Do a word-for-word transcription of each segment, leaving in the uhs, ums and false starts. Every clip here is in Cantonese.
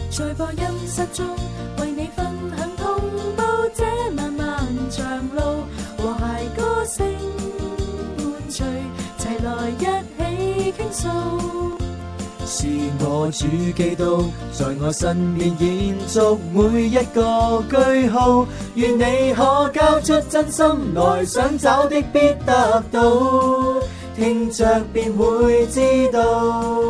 在播音室中為你分享同步這漫漫長路，和諧歌聲伴隨，齊來一起傾訴。 是我主基督在我身邊延續每一個句號，願你可交出真心來，想找的必得到，聽着便會知道。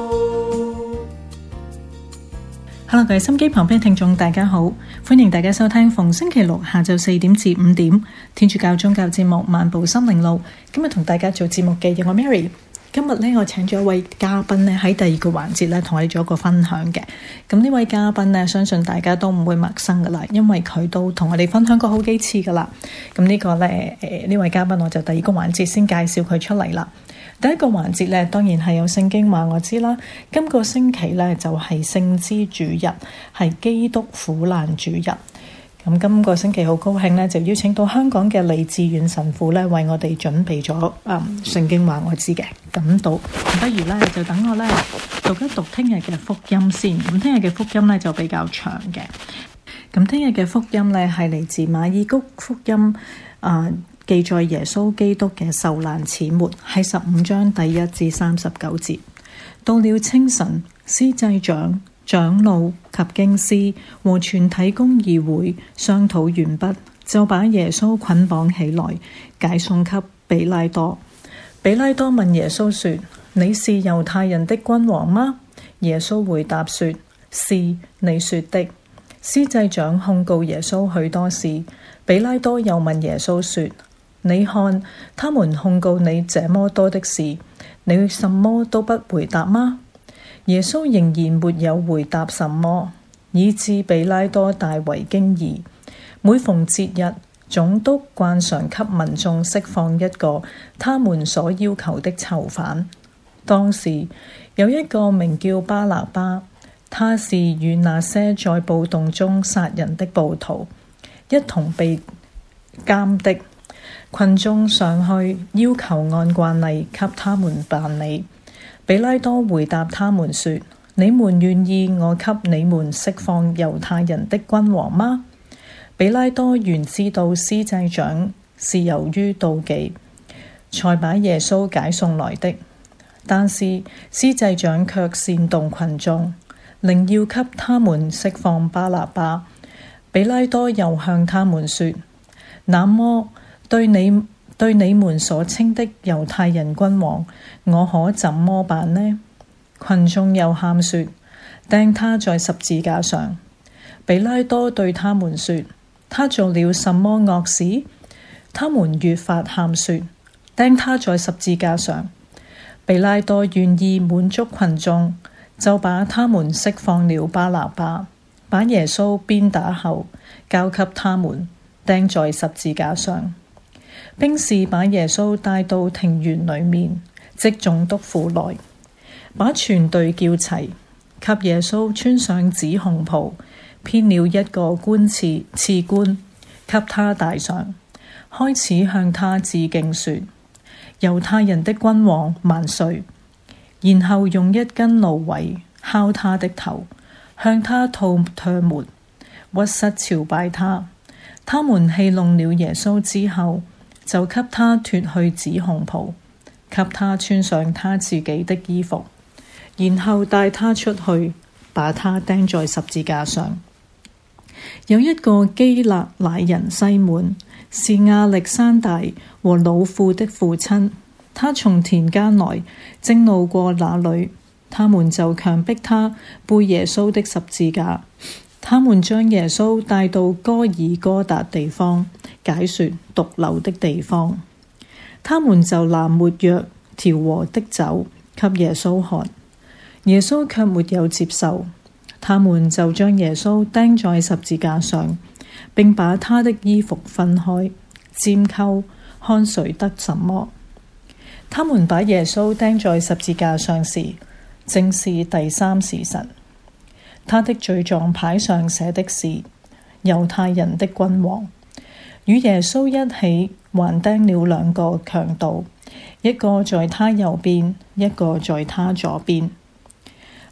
Hello， 各位心機旁邊聽眾大家好，歡迎大家收聽逢星期六下晝四點至五點天主教宗教節目《漫步心靈路》。今日同大家做節目嘅有我 Mary。今日呢，我請咗一位嘉賓呢，喺第二個環節呢，同我哋做一個分享嘅。咁呢位嘉賓呢，相信大家都唔會陌生噶啦，因為佢都同我哋分享過好幾次噶啦。咁呢個呢，誒、呃、呢位嘉賓我就第二個環節先介紹佢出嚟啦。第一個環節呢，當然係有聖經話我知啦。今個星期呢，就係、是、聖之主日，係基督苦難主日。咁今個星期好高興呢，就邀請到香港嘅李志遠神父呢，為我哋準備咗嗯聖經話我知嘅咁讀。不如呢，就等我呢讀一讀聽日嘅福音先。咁聽日嘅福音呢，就比較長嘅。咁聽日嘅福音呢，係嚟自馬爾谷福音啊。呃記載耶穌基督嘅受難始末，係十五章第一至三十九節。到了清晨，司祭長、長老及經師和全體公議會商討完畢，就把耶穌捆綁起來，解送給比拉多。比拉多問耶穌說：你是猶太人的君王嗎？耶穌回答說：是你說的。司祭長控告耶穌許多事。比拉多又問耶穌說：你看，他們控告你這麼多的事，你什麼都不回答嗎？耶穌仍然沒有回答什麼，以致比拉多大為驚異。每逢節日，總督慣常給民眾釋放一個他們所要求的囚犯。當時有一個名叫巴拿巴，他是與那些在暴動中殺人的暴徒一同被監的。群眾上去要求按慣例給他們辦理。比拉多回答他們說：你們願意我給你們釋放猶太人的君王嗎？比拉多原知道司祭長是由於妒忌才把耶穌解送來的，但是司祭長卻煽動群眾，寧要給他們釋放巴拿巴。比拉多又向他們說：那麼對你對你們所稱的猶太人君王，我可怎麼辦呢？群眾又喊說：釘他在十字架上。比拉多對他們說：他做了什麼惡事？他們越發喊說：釘他在十字架上。比拉多願意滿足群眾，就把他們釋放了巴拿巴，把耶穌鞭打後交給他們，釘在十字架上。兵士把耶穌帶到庭園裏面，即總督府內，把全隊叫齊，給耶穌穿上紫紅袍，編了一個冠刺刺冠，給他戴上，開始向他致敬說：猶太人的君王萬歲！然後用一根蘆葦敲他的頭，向他吐唾沫，屈膝朝拜他。他們戲弄了耶穌之後，就給他脫去紫紅袍，給他穿上他自己的衣服，然後帶他出去，把他釘在十字架上。有一個基勒乃人西滿，是亞歷山大和老婦的父親，他從田間來，正路過那裏，他們就強迫他背耶穌的十字架。他們將耶穌帶到哥爾哥達地方，解說毒瘤的地方。他們就拿沒藥調和的酒給耶穌喝，耶穌卻沒有接受。他們就將耶穌釘在十字架上，並把他的衣服分開，拈鬮，看誰得什麼。他們把耶穌釘在十字架上時，正是第三時辰。他的罪狀牌上寫的是猶太人的君王。與耶穌一起還釘了兩個強盜，一個在他右邊，一個在他左邊。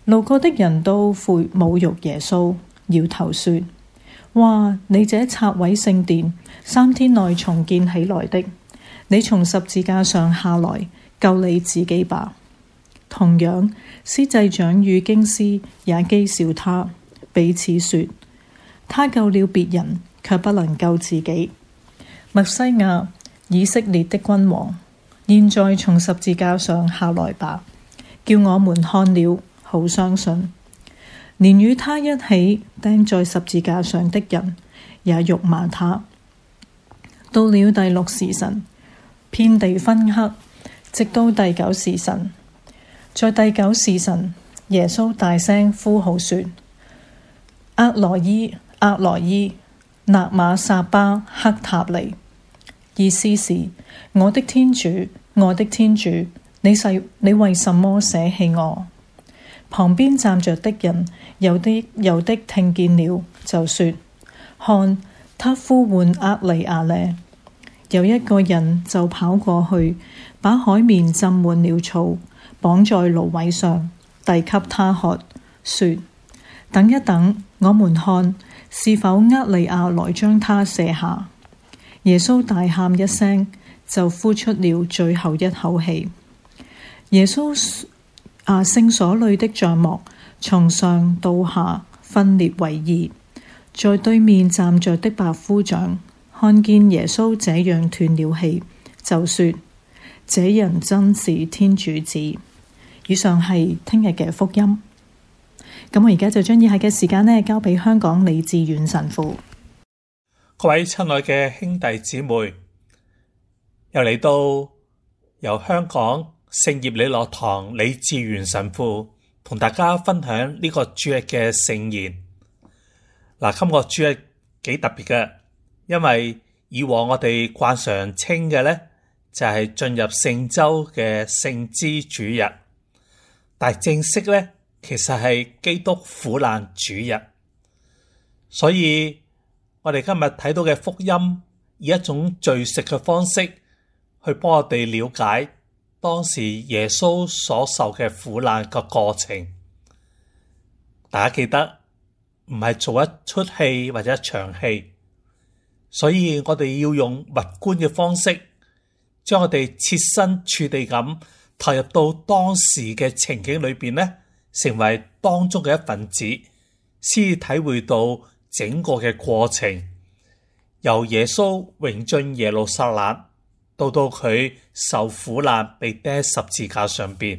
路過的人都侮辱耶穌，搖頭說：哇！你這拆毀聖殿，三天內重建起來的，你從十字架上下來，救你自己吧。同樣，司祭長與經師也譏笑他，彼此說：他救了別人，卻不能救自己。默西亞，以色列的君王，現在從十字架上下來吧，叫我們看了好相信。連與他一起釘在十字架上的人也辱罵他。到了第六時辰，遍地昏黑，直到第九時辰。在第九時辰，耶穌大聲呼號說：厄羅伊，厄羅伊，納瑪撒巴克塔尼。意思是：我的天主，我的天主，你是你為什麼捨棄我？旁邊站着的人有的有的聽見了，就說：看，他呼喚厄里亞呢。有一個人就跑過去，把海綿浸滿了醋，綁在蘆葦上，遞給他喝，說：等一等，我們看是否厄里亞來將他卸下。耶穌大喊一聲，就呼出了最後一口氣。耶穌啊，聖所裏的帳幕從上到下分裂為二，在對面站着的百夫長看見耶穌這樣斷了氣，就說：這人真是天主子。以上係聽日嘅福音。咁我而家就將以下嘅時間呢交俾香港李志遠神父。 各位親愛嘅兄弟姊妹，又嚟到由香港聖葉理諾堂李志遠神父同大家分享呢個主日嘅聖言。嗱，今個主日幾特別嘅，因為以往我哋慣常稱嘅呢，就係、是、進入聖週嘅聖枝主日，但係正式呢，其實係基督苦難主日。所以我哋今日睇到嘅福音，以一種敘述嘅方式去幫我哋了解當時耶穌所受嘅苦難嘅過程。大家記得唔係做一出戲或者一場戲，所以我哋要用物觀嘅方式，將我哋設身處地咁投入到當時嘅情景裏邊呢，成為當中嘅一份子，先體會到整個嘅過程，由耶穌榮進耶路撒冷，到到佢受苦難被釘十字架上邊。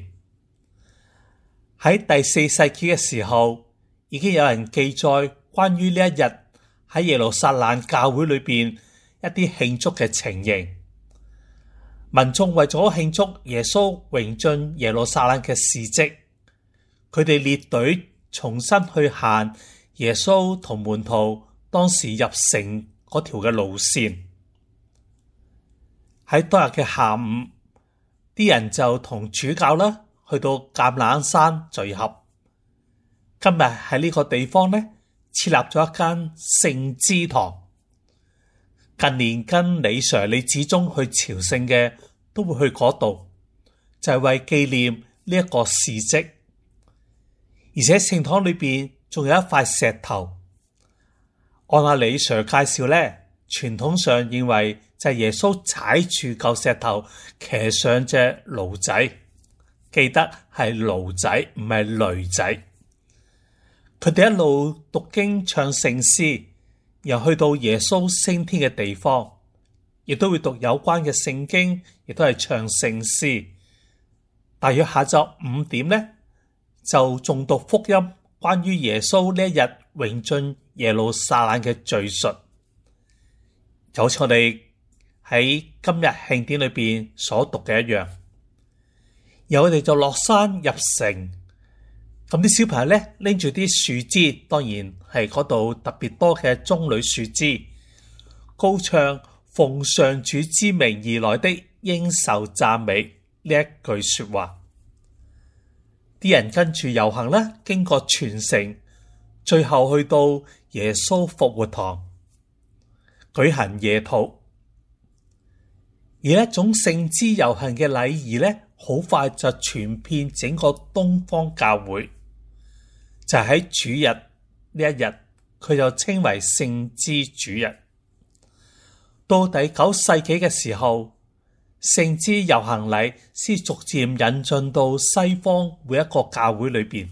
喺第四世紀嘅時候，已經有人記載關於呢一日喺耶路撒冷教會裏邊一啲慶祝嘅情形。民眾為咗慶祝耶穌榮進耶路撒冷嘅事蹟，佢哋列隊重新去行耶穌同門徒當時入城嗰條嘅路線。喺當日嘅下午，啲人就同主教啦去到橄欖山聚合。今日喺呢個地方呢，設立咗一間聖枝堂。近年跟李 Sir 李子忠去朝聖嘅都會去嗰度，就係、是、為紀念呢一個事蹟。而且聖堂裏邊仲有一塊石頭，按阿李 Sir 介紹呢，傳統上認為就係耶穌踩住嚿石頭，騎上隻驢仔。記得係驢仔，唔係驢仔。佢哋一路讀經唱聖詩，又去到耶穌升天嘅地方，亦都會讀有關嘅聖經，亦都係唱聖詩。大約下晝五點呢，就誦讀福音，關於耶穌呢一日榮進耶路撒冷嘅敘述，就好似我哋喺今日慶典裏邊所讀嘅一樣。然後我哋就落山入城，咁啲小朋友咧拎住啲樹枝，當然係嗰度特別多嘅棕櫚樹枝，高唱奉上主之名而來的應受讚美呢一句說話。啲人跟住遊行啦，經過全城，最後去到耶穌復活堂舉行夜禱。而一種聖枝遊行嘅禮儀咧，好快就傳遍整個東方教會。 就喺主日呢一日，佢就稱為聖枝主日。到第九世紀嘅時候，聖枝遊行禮先逐漸引進到西方每一個教會裏邊。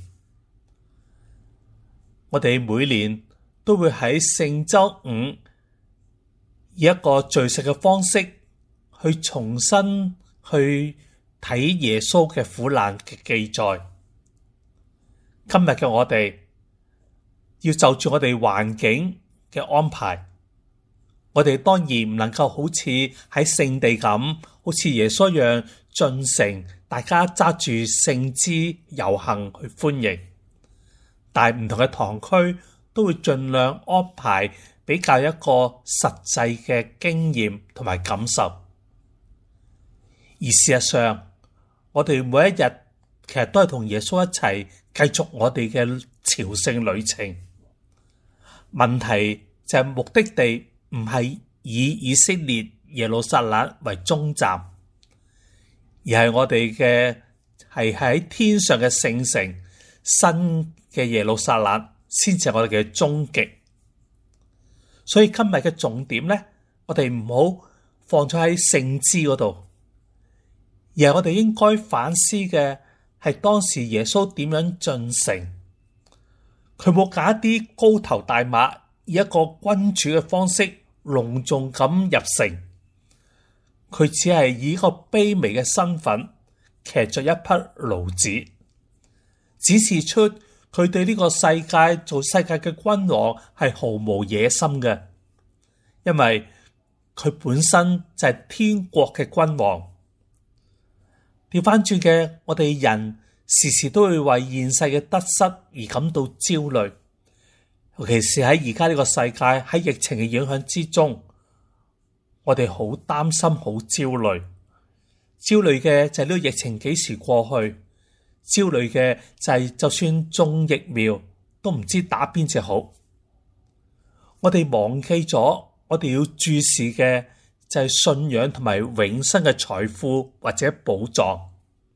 我哋每年都會喺聖週五以一個敘述嘅方式去重新去睇耶穌嘅苦難嘅記載。今日嘅我哋要就住我哋環境嘅安排，我哋當然唔能夠好似喺聖地咁，好似耶穌一樣進城，大家揸住聖枝遊行去歡迎。但係唔同嘅堂區都會盡量安排比較一個實際嘅經驗同埋感受。而事實上，我哋每一日其實都係同耶穌一齊繼續我哋嘅朝聖旅程。問題就係目的地唔係以以色列耶路撒冷為終站，而係我哋嘅係喺天上嘅聖城，新嘅耶路撒冷先至係我哋嘅終極。所以今日嘅重點咧，我哋唔好放咗喺聖枝嗰度，而係我哋應該反思嘅係當時耶穌點樣進城。佢冇揀一啲高頭大馬，以一個君主嘅方式隆重咁入城，佢只係以一個卑微嘅身份騎着一匹驢子，指示出佢對呢個世界做世界嘅君王係毫無野心嘅，因為佢本身就係天國嘅君王。調翻轉嘅，我哋人時時都會為現世嘅得失而感到焦慮，尤其是喺而家呢個世界喺疫情嘅影響之中，我哋好擔心、好焦慮。焦慮嘅就係呢個疫情幾時過去，焦慮嘅就係就算種疫苗都唔知打邊隻好。我哋忘記咗，我哋要注視嘅就係信仰同埋永生嘅財富或者寶藏。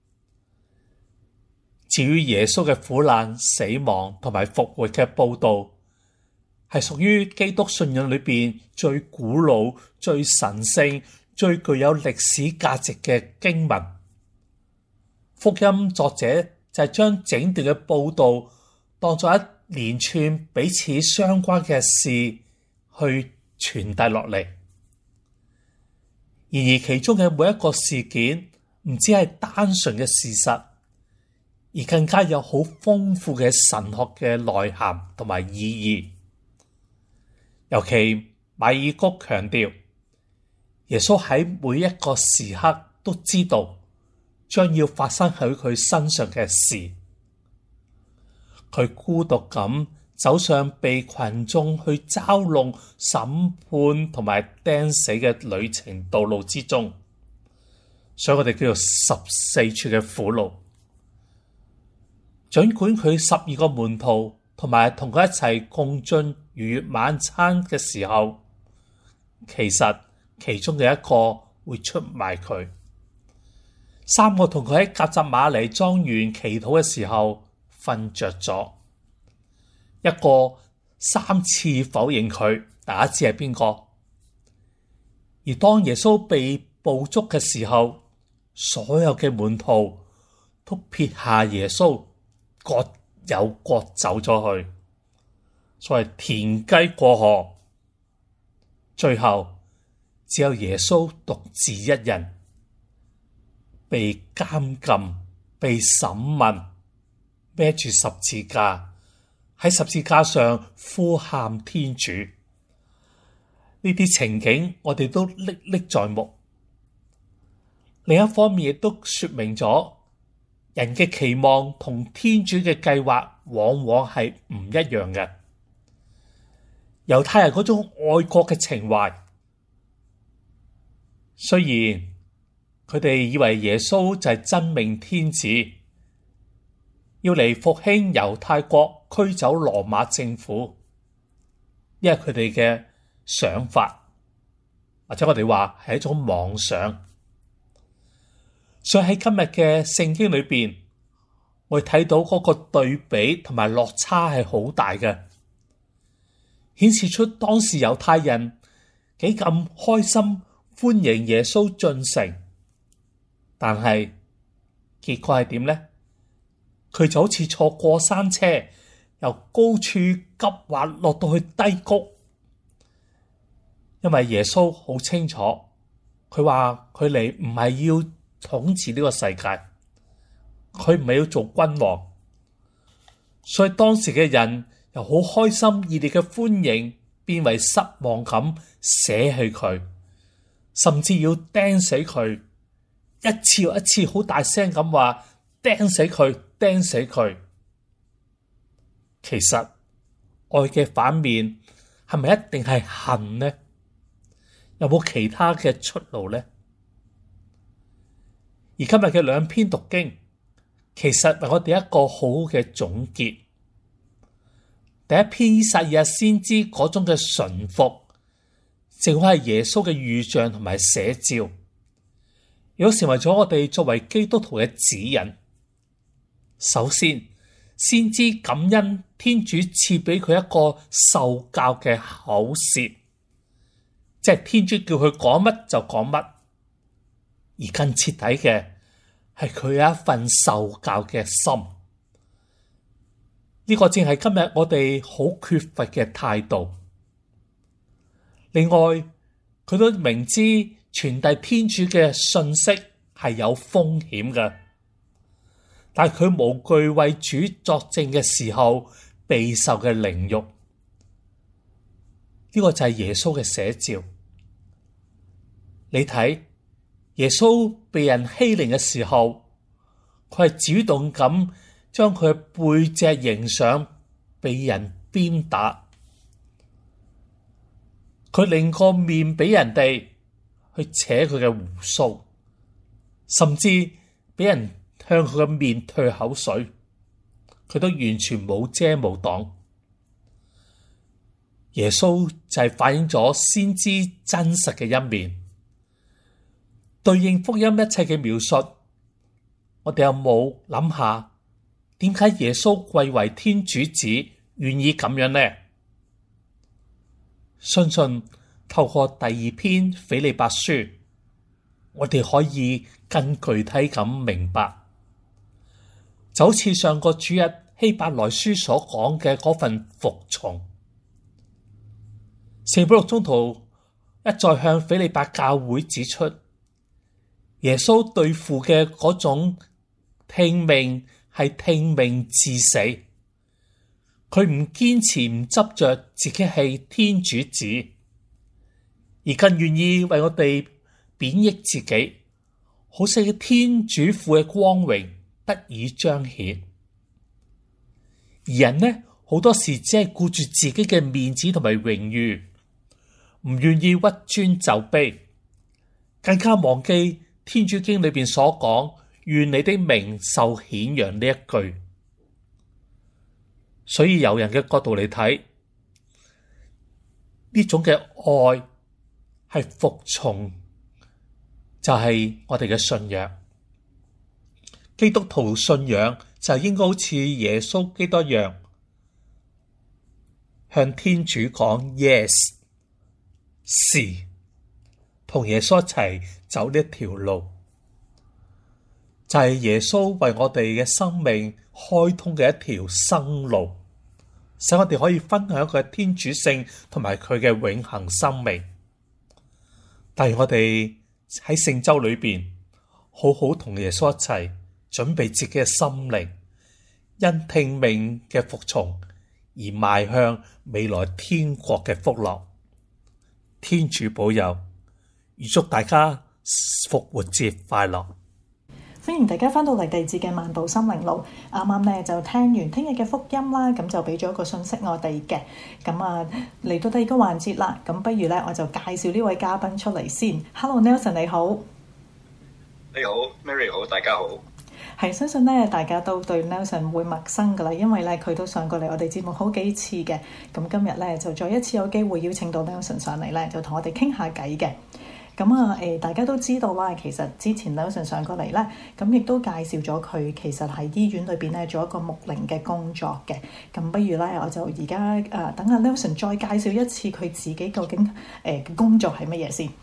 至於耶穌嘅苦難、死亡同埋復活嘅報道，係屬於基督信仰裏邊最古老、最神聖、最具有歷史價值嘅經文。福音作者就係將整段嘅報道當作一連串彼此相關嘅事去傳遞落嚟。然而其中嘅每一個事件唔只係單純嘅事實，而更加有好豐富嘅神學嘅內涵同埋意義。尤其馬爾谷強調，耶穌喺每一個時刻都知道將要發生喺佢身上嘅事。佢孤獨咁走上被群眾去嘲弄、審判同埋釘死嘅旅程道路之中，所以我哋叫做十四處嘅苦路。儘管佢十二個門徒同埋同佢一齊共進逾越晚餐嘅時候，其實其中嘅一個會出賣佢。三個同佢喺革責瑪尼莊園祈禱嘅時候瞓着咗，一個三次否認佢，大家知係邊個？而當耶穌被捕捉嘅時候，所有嘅門徒都撇下耶穌，各有各走咗去，所謂田雞過河，最後只有耶穌獨自一人被監禁、被審問，孭住十字架，喺十字架上呼喊天主。呢啲情景我哋都歷歷在目。另一方面亦都說明咗，人嘅期望同天主嘅計劃往往係唔一樣嘅。猶太人嗰種愛國嘅情懷，雖然佢哋以為耶穌就係真命天子，要嚟復興猶太國、驅走羅馬政府，因為佢哋嘅想法，或者我哋話係一種妄想。所以喺今日嘅聖經裏邊， 我哋睇到嗰個對比同埋落差係好大嘅，顯示出當時猶太人幾咁開心歡迎耶穌進城，但係結果係點呢？佢就好似坐過山車，由高處急滑落到去低谷，因為耶穌好清楚，佢話佢嚟唔係要統治呢個世界，佢唔係要做君王，所以當時嘅人由好開心熱烈嘅歡迎，變為失望咁捨棄佢，甚至要釘死佢，一次又一次好大聲咁話釘死佢，釘死佢。其實愛嘅反面係咪一定係恨呢？有冇其他嘅出路呢？而今日嘅兩篇讀經，其實為我哋一個好嘅總結。第一篇以賽亞先知嗰種嘅順服，正好係耶穌嘅預象同埋寫照，亦都成為咗我哋作為基督徒嘅指引。首先，先知感恩天主賜俾佢一個受教嘅口舌，即係天主叫佢講乜就講乜，而更徹底嘅係佢有一份受教嘅心。呢個正係今日我哋好缺乏嘅態度。另外，佢都明知傳遞天主嘅信息係有風險嘅，但係佢無懼為主作證嘅時候備受嘅凌辱。呢個就係耶穌嘅寫照。你睇耶穌被人欺凌嘅時候，佢係主動咁將佢嘅背脊迎上，被人鞭打。佢令個面俾人哋去扯佢嘅鬍鬚，甚至俾人向佢嘅面吐口水，佢都完全冇遮冇擋。耶穌就係反映咗先知真實嘅一面，對應福音一切嘅描述。我哋有冇諗下，點解耶穌貴為天主子，願意咁樣呢？相信透過第二篇斐理伯書，我哋可以更具體咁明白，就好似上個主日希伯來書所講嘅嗰份服從。聖保祿宗徒一再向斐理伯教會指出，耶穌對父嘅嗰種聽命係聽命至死，佢唔堅持唔執着自己係天主子，而更願意為我哋貶抑自己，好使天主父嘅光榮得以彰顯。而人呢，好多時只係顧住自己嘅面子同埋榮譽，唔願意屈尊就卑，更加忘記天主經裏邊所講願你的名受顯揚呢一句。所以由人嘅角度嚟睇，呢種嘅愛係服從，就係我哋嘅信仰。基督徒信仰就應該好似耶穌基督一樣，向天主講 yes 是，同耶穌一齊走呢一條路，就係耶穌為我哋嘅生命開通嘅一條生路，使我哋可以分享佢嘅天主性同埋佢嘅永恆生命。但係我哋喺聖週裏邊，好好同耶穌一齊準備自己嘅心靈，因聽命嘅服從而邁向未來天國嘅福樂。天主保佑，預祝大家復活節快樂！ 歡迎大家翻到嚟第二節嘅漫步心靈路。啱啱咧就聽完聽日嘅福音啦，咁就俾咗一個信息我哋嘅。咁啊嚟到第二個環節啦，咁不如咧我就介紹呢位嘉賓出嚟先。Hello Nelson 你好。 你好 Mary 好，大家好。 係，相信咧大家都對 Nelson 唔會陌生噶啦，因為咧佢都上過嚟我哋節目好幾次嘅。咁今日咧就再一次有機會邀請到 Nelson 上嚟咧，就同我哋傾下偈嘅。 咁啊誒，大家都知道啦，其實之前 Nelson 上過嚟咧，咁亦都介紹咗佢其實喺醫院裏邊咧做一個牧靈嘅工作嘅。咁不如咧，我就而家誒等阿 Nelson 再介紹一次佢自己究竟誒嘅、呃、工作係乜嘢先。誒、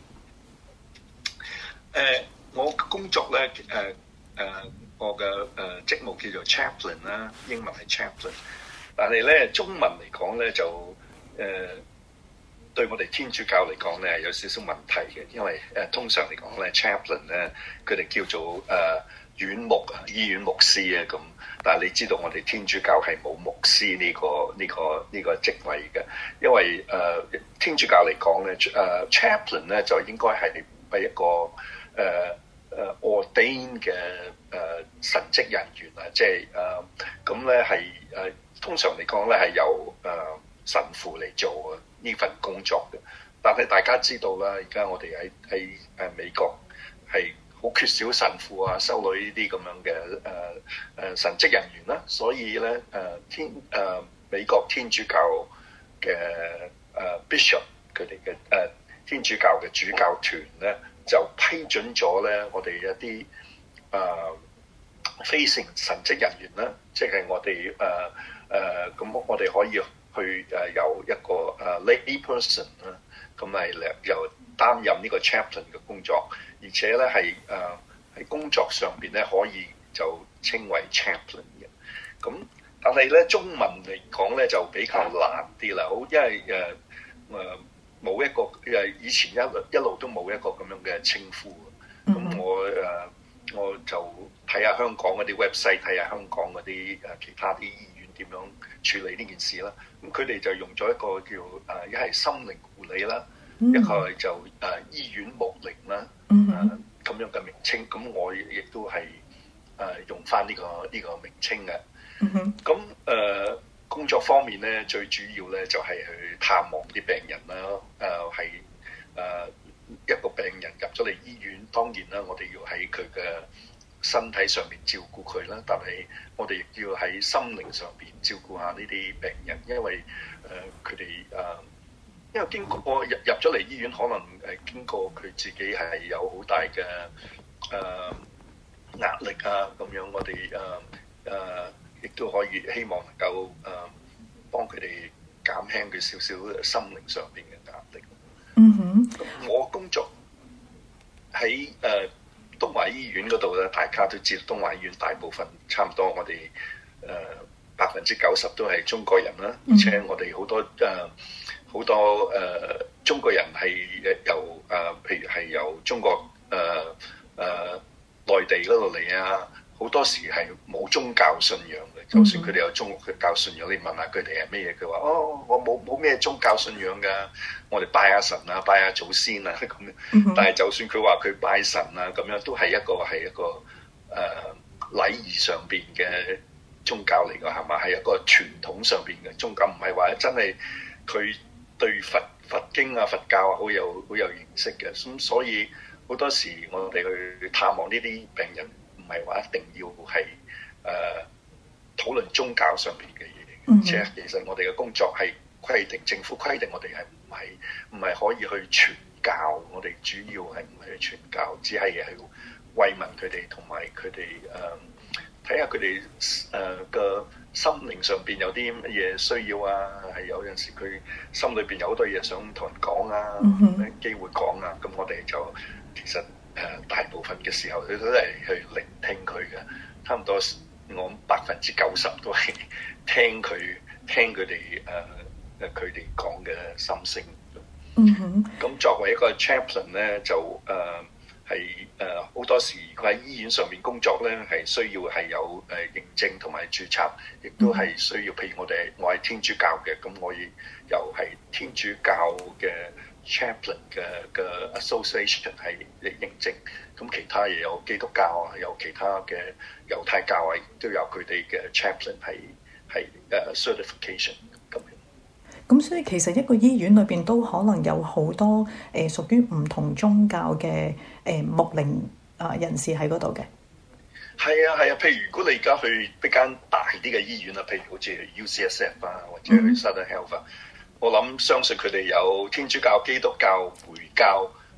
呃，我嘅工作咧誒誒，我嘅誒、呃、職務叫做 chaplain 啦，英文係 chaplain， 但係咧中文嚟講咧就誒。呃對我哋天主教嚟講咧有少少問題嘅，因為誒、呃、通常嚟講咧 chaplain 咧佢哋叫做誒、呃、院牧啊、醫院牧師啊咁，但係你知道我哋天主教係冇牧師呢、呢個呢、呢個呢、呢個職位嘅，因為誒、呃、天主教嚟講咧誒 chaplain 咧就應該係係一個誒誒、呃、ordain 嘅誒、呃、神職人員啊，即係誒咁咧係誒通常嚟講咧係由誒、呃、神父嚟做啊呢份工作嘅，但係大家知道啦，而家我哋喺喺誒美國係好缺少神父啊、修女呢啲咁樣嘅誒誒神職人員啦，所以咧誒、呃、天誒、呃、美國天主教嘅誒、呃、bishop 佢哋嘅誒天主教嘅主教團咧就批准咗咧我哋一啲誒、呃、非聖神職人員啦，即係我哋誒誒咁我哋可以去誒、呃、有一個誒、uh, lay person 啦，咁係又擔任呢個 chaplain 嘅工作，而且咧係誒喺工作上邊咧可以就稱為 chaplain 嘅。咁但係咧中文嚟講咧就比較難啲啦，好因為誒誒冇一個誒以前一路一路都冇一個咁樣嘅稱呼。咁、mm hmm. 我誒、uh, 我就睇下香港嗰啲 website， 睇下香港嗰啲誒其他啲醫院點樣處理呢件事啦。咁佢哋就用咗一個叫誒一係心靈護理啦，一個就誒、呃、醫院牧靈啦，誒咁、 mm hmm. 呃、樣嘅名稱。咁我亦都係誒、呃、用翻呢、這個呢、這個名稱嘅。咁誒、 mm hmm. 呃、工作方面咧，最主要咧就係、是、去探望啲病人啦。誒係誒一個病人入咗嚟醫院，當然啦，我哋要喺佢嘅身體上面照顧佢啦，但係我哋亦要喺心靈上邊照顧下呢啲病人，因為誒佢哋誒，因為經過入入咗嚟醫院，可能誒經過佢自己係有好大嘅誒、呃、壓力啊，咁樣我哋誒誒亦都可以希望能夠誒、呃、幫佢哋減輕佢少少心靈上邊嘅壓力。 嗯哼， 咁我工作喺誒。呃東華醫院嗰度咧，大家都知道東華醫院大部分差唔多我哋誒百分之九十都係中國人啦，而且我哋好多誒好、呃、多誒、呃、中國人係由誒、呃、譬如係由中國誒誒、呃呃、內地嗰度嚟啊，好多時係冇宗教信仰嘅，就算佢哋有宗教信仰，你問下佢哋係咩嘢，佢話哦，我冇冇咩宗教信仰㗎，我哋拜下神啊，拜下祖先啊咁樣。但係就算佢話佢拜神啊咁樣，都係一個係一個誒、呃、禮儀上邊嘅宗教嚟㗎，係嘛？係一個傳統上邊嘅宗教，唔係話真係佢對佛佛經啊、佛教啊好有好有認識嘅。咁所以好多時我哋去探望呢啲病人，唔係話一定要係誒討論宗教上邊嘅嘢，而且其實我哋嘅工作係規定政府規定我哋係唔係唔係可以去傳教，我哋主要係唔係去傳教，只係係慰問佢哋，同埋佢哋誒睇下佢哋誒嘅心靈上邊有啲乜嘢需要啊，係有陣時佢心裏邊有好多嘢想同人講啊，咩機會講啊，咁我哋就其實誒、呃、大部分嘅時候佢都係去聆聽佢嘅，差唔多我百分之九十都係聽佢聽佢哋誒誒佢哋講嘅心聲。嗯哼，咁作為一個 chaplain 咧，就誒係誒好多時佢喺醫院上面工作咧，係需要係有誒認證同埋註冊，亦都係需要。譬如我哋我係天主教嘅，咁我亦又係天主教嘅 chaplain 嘅嘅 association 係認證。咁其他嘢有基督教啊，有其他嘅猶太教啊，都有佢哋嘅 chaplain 係係誒 certification 咁樣。 咁所以其實一個醫院裏邊都可能有好多誒、呃、屬於唔同宗教嘅誒牧靈啊人士喺嗰度嘅。 係啊係啊，譬如如果你而家去一間大啲嘅醫院啊，譬如好似 U C S F 啊，或者去 Southern Health 啊，嗯、我諗相信佢哋有天主教、基督教、回教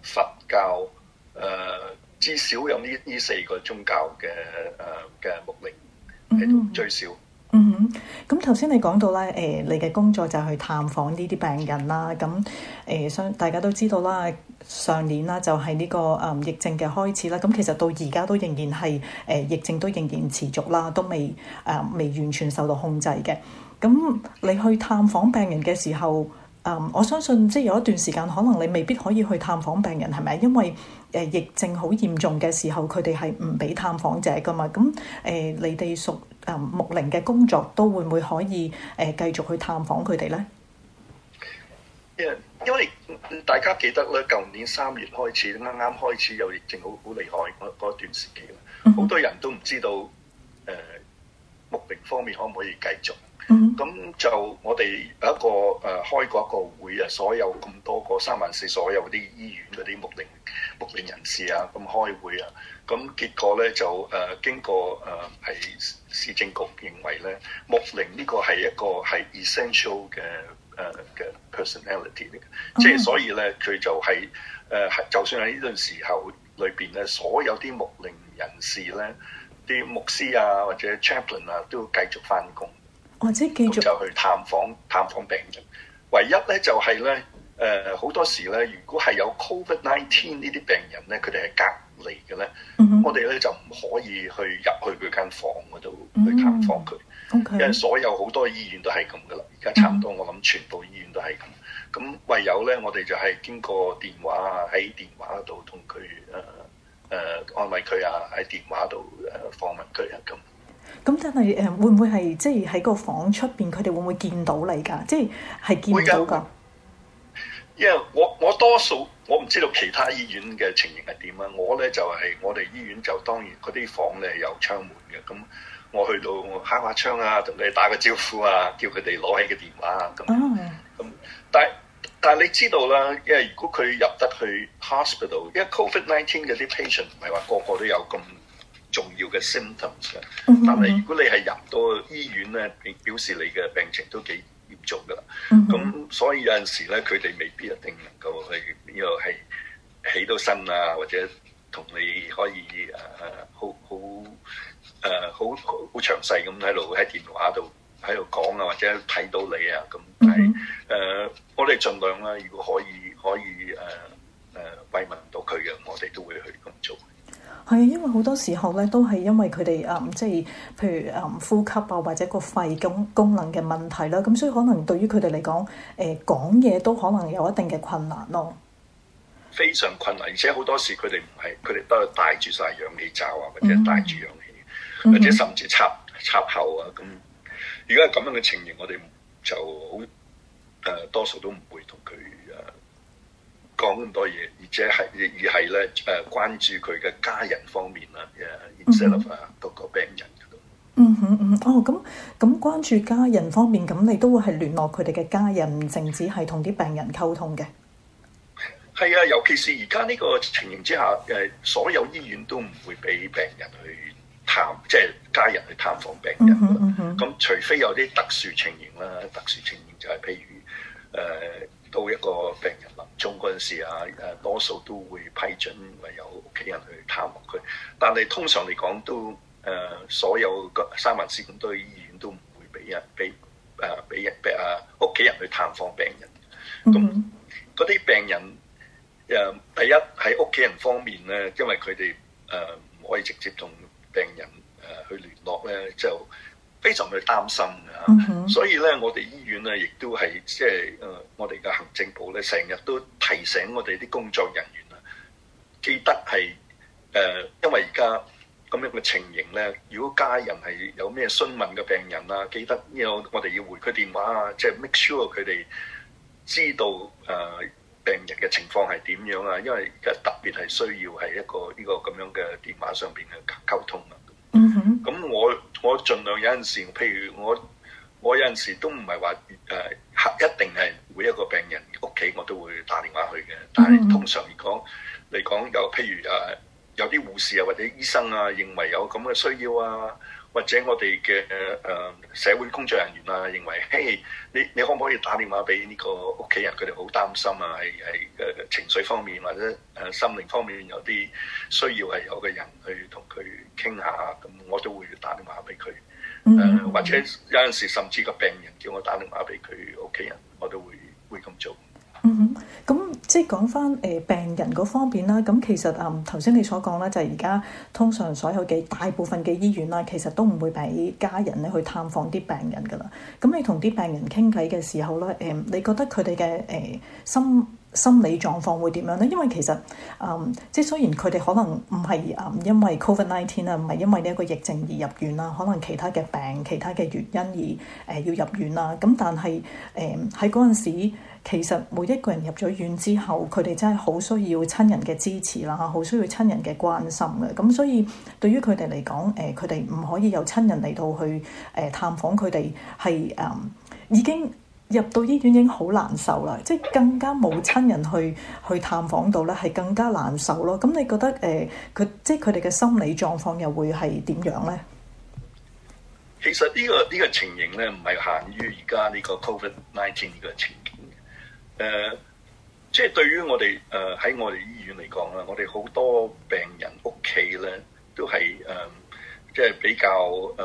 佛教，誒、呃、至少有呢呢四個宗教嘅誒嘅牧靈喺度最少。 嗯哼，咁頭先你講到咧，誒、呃，你嘅工作就係去探訪呢啲病人啦。咁誒，相、呃、大家都知道啦，上年啦就係、是、呢、這個誒、呃、疫症嘅開始啦。咁其實到而家都仍然係誒、呃、疫症都仍然持續啦，都未誒、呃、未完全受到控制嘅。咁你去探訪病人嘅時候，誒、呃，我相信即係有一段時間，可能你未必可以去探訪病人，係咪？因為誒、呃、疫症好嚴重嘅時候，佢哋係唔俾探訪者噶嘛。咁誒、呃，你哋屬誒牧靈嘅工作都會唔會可以誒、呃、繼續去探訪佢哋咧？ 因因為大家記得咧，舊年三月開始，啱啱開始有疫症好好厲害嗰嗰段時期啦，好、mm hmm. 多人都唔知道誒、呃、牧靈方面可唔可以繼續。咁、mm hmm. 就我哋有一個誒、呃、開過一個會啊，所有咁多個三萬四所有啲醫院嗰啲牧靈牧靈人士啊，咁開會啊，咁結果咧就誒、呃、經過誒係、呃、市政局認為咧，牧靈呢個係一個係 essential 嘅誒嘅 personality 嚟嘅，即係所以咧佢就係誒係就算喺呢段時候裏邊咧，所有啲牧靈人士咧，啲牧師啊或者 chaplain 啊都要繼續翻工。 或者繼續就去探訪探訪病人，唯一咧就係咧誒好多時咧，如果係有 covid nineteen 呢啲病人咧，佢哋係隔離嘅咧，mm hmm. 我哋咧就唔可以去入去佢間房嗰度去探訪佢，mm hmm. okay. 因為所有好多醫院都係咁噶啦，而家差唔多我諗全部醫院都係咁，咁、mm hmm. 唯有咧我哋就係經過電話啊，喺電話度同佢誒誒安慰佢啊，喺電話度誒訪問佢啊咁。 咁但係誒會唔會係即係喺個房出邊，佢哋會唔會見到你㗎？即係係見唔到㗎。 因為我我多數我唔知道其他醫院嘅情形係點啊。我咧就係、是、我哋醫院就當然嗰啲房咧有窗門嘅。咁我去到我敲下窗啊，同佢哋打個招呼啊，叫佢哋攞起個電話啊。咁咁、oh. 但係但係你知道啦，因為如果佢入得去 hospital，因為 covid nineteen 嗰啲 patient 唔係話個個都有咁重要嘅 symptoms 嘅，但係如果你係入到醫院咧，表示你嘅病情都幾嚴重噶啦。咁、mm hmm. 所以有陣時咧，佢哋未必一定能夠去呢個係起到身啊，或者同你可以誒、呃、好好誒、呃、好好好詳細咁喺度喺電話度喺度講啊，或者睇到你啊咁。但係誒、mm hmm. 呃，我哋盡量啦，如果可以可以誒誒、呃呃、慰問到佢嘅，我哋都會去咁做。 係，因為好多時候咧，都係因為佢哋誒，即係譬如誒、嗯、呼吸啊，或者個肺功功能嘅問題啦，咁所以可能對於佢哋嚟講，誒、呃、講嘢都可能有一定嘅困難咯。 非常困難，而且好多時佢哋唔係，佢哋都係帶住晒氧氣罩啊，或者帶住氧氣，嗯、或者甚至插插喉啊。咁如果係咁樣嘅情形，我哋就好誒、呃，多數都唔會同佢誒。講咁多嘢，而且係而係咧誒，關注佢嘅家人方面啦，誒，instead of 嗰個病人嗰度。 嗯哼嗯，哦，咁咁關注家人方面，咁你都會係聯絡佢哋嘅家人，唔淨止係同啲病人溝通嘅。 係啊，尤其是而家呢個情形之下，誒，所有醫院都唔會俾病人去探，即係家人去探訪病人。咁、嗯嗯、除非有啲特殊情形啦，特殊情形就係譬如誒。呃到一個病人臨終嗰陣時啊，誒多數都會批准唯有屋企人去探望佢。但係通常嚟講都誒、呃，所有個三藩市咁多醫院都唔會俾人俾誒俾人俾啊屋企人去探訪病人。咁嗰啲病人誒、呃，第一喺屋企人方面咧，因為佢哋誒唔可以直接同病人誒、呃、去聯絡咧，就非常去擔心嘅， mm hmm. 所以咧，我哋醫院咧，亦都係即係誒，我哋嘅行政部咧，成日都提醒我哋啲工作人員啊，記得係誒、呃，因為而家咁樣嘅情形咧，如果家人係有咩詢問嘅病人啊，記得有我哋要回佢電話啊，即係 make sure 佢哋知道誒、呃、病人嘅情況係點樣啊，因為而家特別係需要係一個呢、這個咁樣嘅電話上邊嘅溝通啊。嗯哼，咁、mm hmm. 我我盡量有陣時，譬如我我有陣時都唔係話誒，一定係每一個病人屋企我都會打電話去嘅。但係通常嚟講嚟講，有譬如誒有啲護士啊或者醫生啊認為有咁嘅需要啊， 或者我哋嘅誒社會工作人員啊，認為嘿，你你可唔可以打電話俾呢個屋企人？佢哋好擔心啊，係係誒情緒方面或者誒心靈方面有啲需要係有個人去同佢傾下，咁我都會打電話俾佢。誒、嗯呃、或者有陣時甚至個病人叫我打電話俾佢屋企人，我都會會咁做。 嗯哼，咁即係講翻誒病人嗰方面啦。咁其實誒頭先你所講咧，就係而家通常所有嘅大部分嘅醫院啦，其實都唔會俾家人咧去探訪啲病人噶啦。咁你同啲病人傾偈嘅時候咧，誒、呃、你覺得佢哋嘅誒心心理狀況會點樣咧？因為其實誒、嗯、即係雖然佢哋可能唔係誒因為 Covid nineteen 啊，唔係因為呢一個疫症而入院啦，可能其他嘅病、其他嘅原因而誒、呃、要入院啦。咁但係誒喺嗰陣時，其實每一個人入咗院之後，佢哋真係好需要親人嘅支持啦，好需要親人嘅關心嘅。咁所以對於佢哋嚟講，誒佢哋唔可以有親人嚟到去誒、呃、探訪佢哋，係誒、呃、已經入到醫院已經好難受啦，即係更加冇親人去去探訪到咧，係更加難受咯。咁你覺得誒佢、呃、即係佢哋嘅心理狀況又會係點樣咧？ 其實呢、呢個呢、呢個情形咧，唔係限於而家呢個 Covid nineteen 呢個情形。誒、呃，即係對於我哋誒喺我哋醫院嚟講啦，我哋好多病人屋企咧都係誒、呃，即係比較誒誒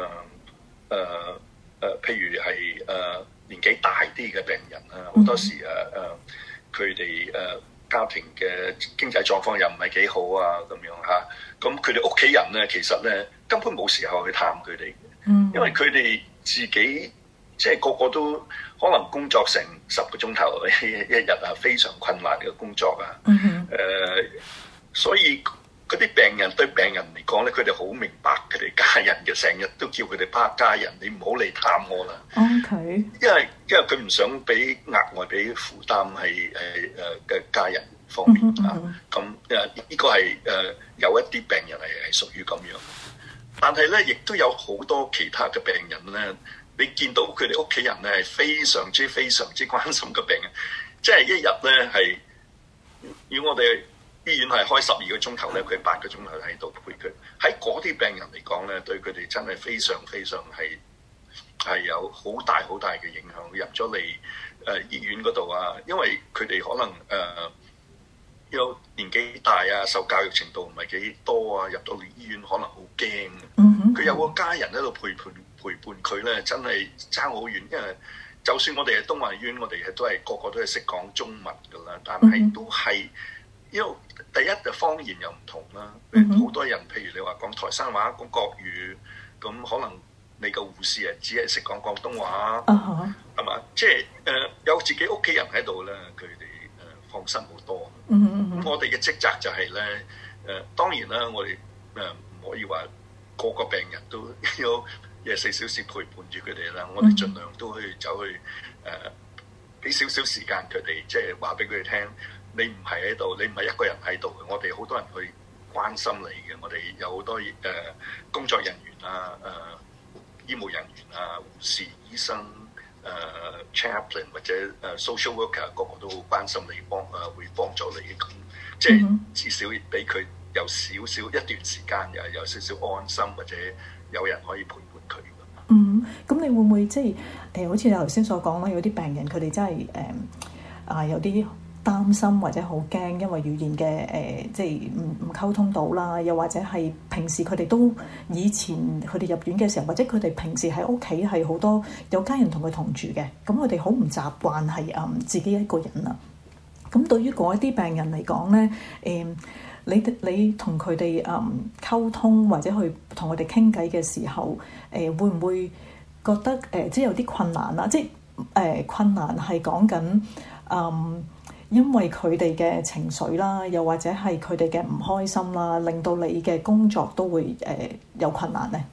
誒，譬如係誒、呃、年紀大啲嘅病人啊，好多時誒誒，佢哋誒家庭嘅經濟狀況又唔係幾好啊，咁樣嚇，咁佢哋屋企人咧，其實咧根本冇時候去探佢哋，嗯，因為佢哋自己。即係個個都可能工作成十個鐘頭一日啊，非常困難嘅工作啊。誒、mm hmm. 呃，所以嗰啲病人對病人嚟講咧，佢哋好明白佢哋家人嘅，成日都叫佢哋巴家人，你唔好嚟探我啦。 OK， 因為因為佢唔想俾額外俾負擔係誒誒嘅家人方面、mm hmm. 啊。咁誒呢個係誒、呃、有一啲病人係係屬於咁樣，但係咧亦都有好多其他嘅病人咧。你見到佢哋屋企人咧係非常之非常之關心個病人，即係一日咧係，如果我哋醫院係開十二個鐘頭咧，佢八個鐘頭喺度陪佢。喺嗰啲病人嚟講咧，對佢哋真係非常非常係係有好大好大嘅影響。入咗嚟誒醫院嗰度啊，因為佢哋可能誒、呃、有年紀大啊，受教育程度唔係幾多啊，入到嚟醫院可能好驚。佢、mm hmm. 有個家人喺度陪伴。陪伴佢咧，真係爭好遠，因為就算我哋係東華醫院，我哋係都係個個都係識講中文噶啦，但係都係因為第一就方言又唔同啦，好、mm hmm. 多人譬如你話講台山話、講國語，咁可能你個護士啊只係識講廣東話，係嘛、uh huh.？即係誒、呃、有自己屋企人喺度咧，佢哋誒放心好多。咁、mm hmm. 我哋嘅職責就係咧誒，當然啦，我哋誒唔可以話個個病人都有。廿四小時陪伴住佢哋啦，我哋盡量都去走去誒，俾少少時間佢哋，即係話俾佢哋聽，你唔係喺度，你唔係一個人喺度嘅，我哋好多人去關心你嘅，我哋有好多誒、呃、工作人員啊、誒、呃、醫務人員啊、護士、醫生、誒、呃、chaplain 或者誒 social worker，個個都好關心你，幫誒、呃、會幫助你嘅，咁即係至少俾佢有少少一段時間又有少少安心，或者有人可以陪。 嗯，咁你會唔會即係誒、呃，好似你頭先所講啦，有啲病人佢哋真係誒啊，有啲擔心或者好驚，因為語言嘅誒、呃，即係唔唔溝通到啦，又或者係平時佢哋都以前佢哋入院嘅時候，或者佢哋平時喺屋企係好多有家人同佢同住嘅，咁佢哋好唔習慣係誒自己一個人啊。咁對於嗰一啲病人嚟講咧，誒、呃。你你同佢哋誒溝通或者去同佢哋傾偈嘅時候，誒、呃、會唔會覺得誒、呃、即係有啲困難啦？即係誒、呃、困難係講緊誒，因為佢哋嘅情緒啦，又或者係佢哋嘅唔開心啦，令到你嘅工作都會誒、呃、有困難咧。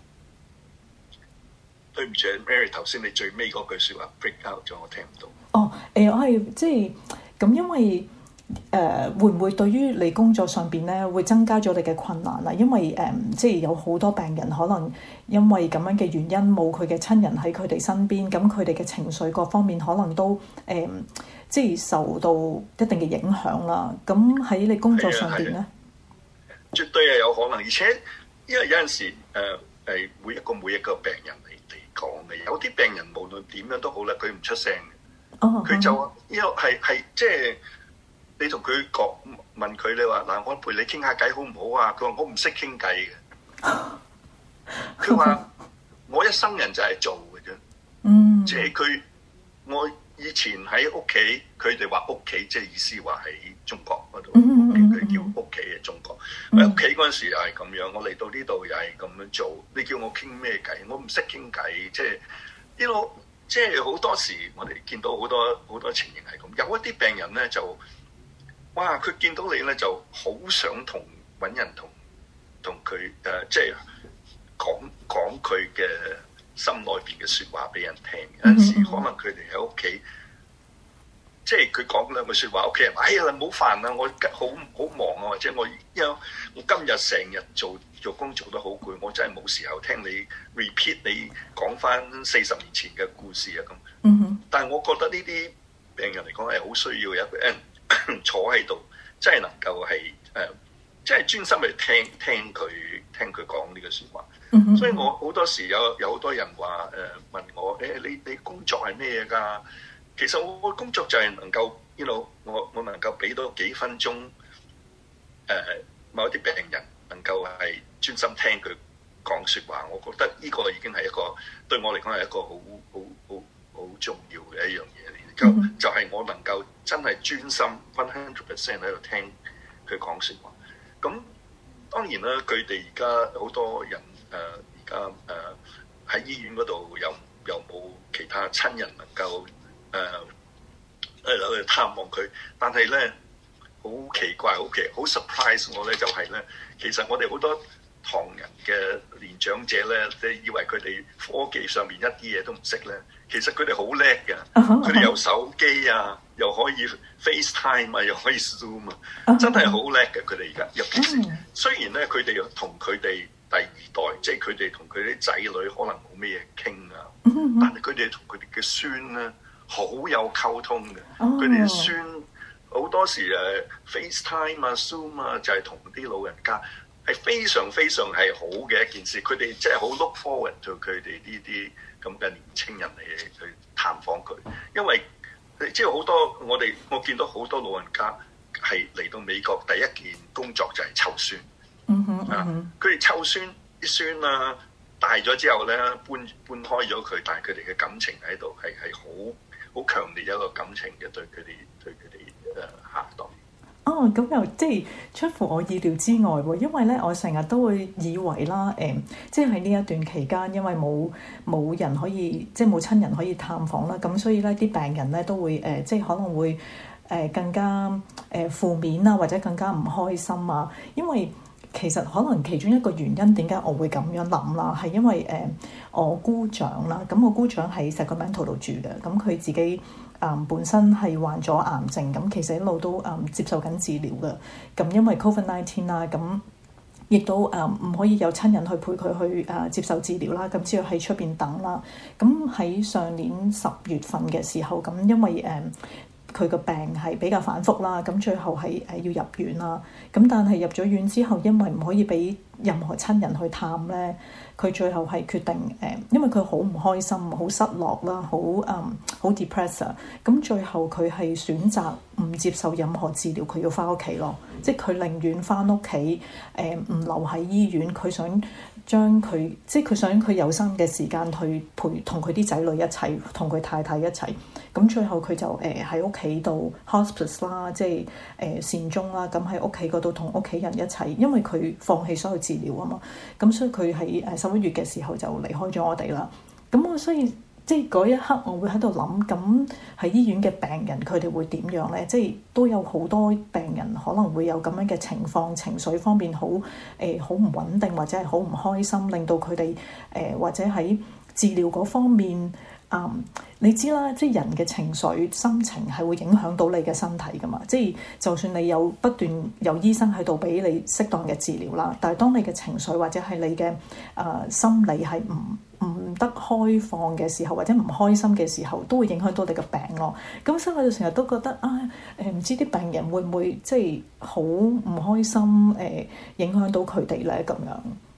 對唔住 Mary， 頭先你最尾嗰句説話 break out 咗，我聽唔到。 哦，誒、呃、我係即係咁，因為。誒、呃、會唔會對於你工作上邊咧會增加咗你嘅困難啊？因為誒、呃、即係有好多病人可能因為咁樣嘅原因冇佢嘅親人喺佢哋身邊，咁佢哋嘅情緒各方面可能都誒、呃、即係受到一定嘅影響啦。咁喺你工作上邊咧， 絕對係有可能，而且因為有陣時誒、呃、 誒每一個每一個病人嚟嚟講嘅。有啲病人無論點樣都好咧，佢唔出聲嘅，佢、oh, 就因為係係即係你同佢講問佢，你話嗱，我陪你傾下偈好唔好啊？佢話我唔識傾偈嘅，佢話我一生人就係做嘅啫，嗯，即係佢我。以前喺屋企，佢哋話屋企，即係意思話喺中國嗰度，佢、mm hmm. 叫屋企嘅中國。喺屋企嗰陣時又係咁樣，我嚟到呢度又係咁樣做。你叫我傾咩偈？我唔識傾偈，即係呢個，即係好多時我哋見到好多好多情形係咁。有一啲病人咧就，哇！佢見到你咧就好想同揾人同同佢誒，即係講講佢嘅心內邊嘅説話俾人聽，有陣時可能佢哋喺屋企，即係佢講兩句説話，屋企人話：哎呀，唔好煩啦，我好好忙啊，或者我因為我今日成日做做工做得好攰，我真係冇時候聽你 repeat 你講翻四十年前嘅故事啊咁。嗯哼。但係我覺得呢啲病人嚟講係好需要有一個人坐喺度，真係能夠係誒，即係專心去聽聽佢聽佢講呢個説話。所以我好多時有有好多人話誒、呃、問我誒、欸、你你工作係咩㗎？其實我個工作就係能夠，you know，我我能夠俾多幾分鐘誒、呃、某一啲病人能夠係專心聽佢講説話，我覺得呢個已經係一個對我嚟講係一個好好好好重要嘅一樣嘢嚟。就就係我能夠真係專心 one hundred percent 喺度聽佢講説話。咁當然啦，佢哋而家好多人。誒而家誒喺醫院嗰度有有冇其他親人能夠誒誒去探望佢？但係咧好奇怪，好奇好 surprise 我咧，就係、是、咧，其實我哋好多唐人嘅年長者咧，你以為佢哋科技上面一啲嘢都唔識咧，其實佢哋好叻嘅，佢哋有手機啊，又可以 FaceTime 啊，又可以 Zoom 啊，真係好叻嘅。佢哋而家尤其是雖然咧，佢哋同佢哋第二代，即係佢哋同佢啲仔女可能冇咩嘢傾啊，但係佢哋同佢哋嘅孫咧好有溝通嘅。佢哋嘅孫好多時誒 FaceTime 啊、Zoom 啊，就係同啲老人家係非常非常係好嘅一件事。佢哋即係好 look forward to 佢哋呢啲咁嘅年青人嚟去探訪佢，因為即係好多我哋我見到好多老人家係嚟到美國第一件工作就係湊孫。嗯哼，啊，佢哋湊孫啲孫啊大咗之後咧，搬搬開咗佢，但係佢哋嘅感情喺度係係好好強烈一個感情嘅，對佢哋對佢哋誒下一代。 哦，咁又即係出乎我意料之外喎，因為咧我成日都會以為啦，誒、呃，即係喺呢一段期間，因為冇冇人可以即係冇親人可以探訪啦，咁所以咧啲病人咧都會誒、呃，即係可能會誒、呃、更加誒、呃、負面啊，或者更加唔開心啊，因為其實可能其中一個原因點解我會咁樣諗啦，係因為誒、呃、我姑丈啦，咁我姑丈喺 Sacramento 度住嘅，咁佢自己誒、呃、本身係患咗癌症，咁其實一路都誒、呃、接受緊治療嘅，咁因為 covid nineteen 啦，咁亦都誒唔、呃、可以有親人去陪佢去誒、呃、接受治療啦，咁只要喺出邊等啦，咁喺上年十月份嘅時候，咁因為誒，呃佢個病係比較反覆啦，咁最後係誒要入院啦。咁但係入咗院之後，因為唔可以俾任何親人去探咧，佢最後係決定誒，因為佢好唔開心、好失落啦、好誒好 depressed。咁最後佢係選擇唔接受任何治療，佢要翻屋企咯。即係佢寧願翻屋企誒，唔留喺醫院。佢想將佢即係佢想佢有生嘅時間去陪同佢啲仔女一齊，同佢太太一齊。咁最後佢就誒喺屋企度 hospice 啦，即係誒、呃、善終啦。咁喺屋企嗰度同屋企人一齊，因為佢放棄所有治療啊嘛。咁所以佢喺誒十一月嘅時候就離開咗我哋啦。咁我所以即係嗰一刻，我會喺度諗，咁喺醫院嘅病人佢哋會點樣咧？即係都有好多病人可能會有咁樣嘅情況，情緒方面好誒好唔穩定，或者係好唔開心，令到佢哋誒或者喺治療嗰方面。嗯，你知啦，即係人嘅情緒、心情係會影響到你嘅身體噶嘛。即係就算你有不斷有醫生喺度俾你適當嘅治療啦，但係當你嘅情緒或者係你嘅誒、呃、心理係唔唔得開放嘅時候，或者唔開心嘅時候，都會影響到你嘅病咯。咁所以我就成日都覺得啊，誒、呃、唔知啲病人會唔會即係好唔開心誒、呃，影響到佢哋咧咁樣。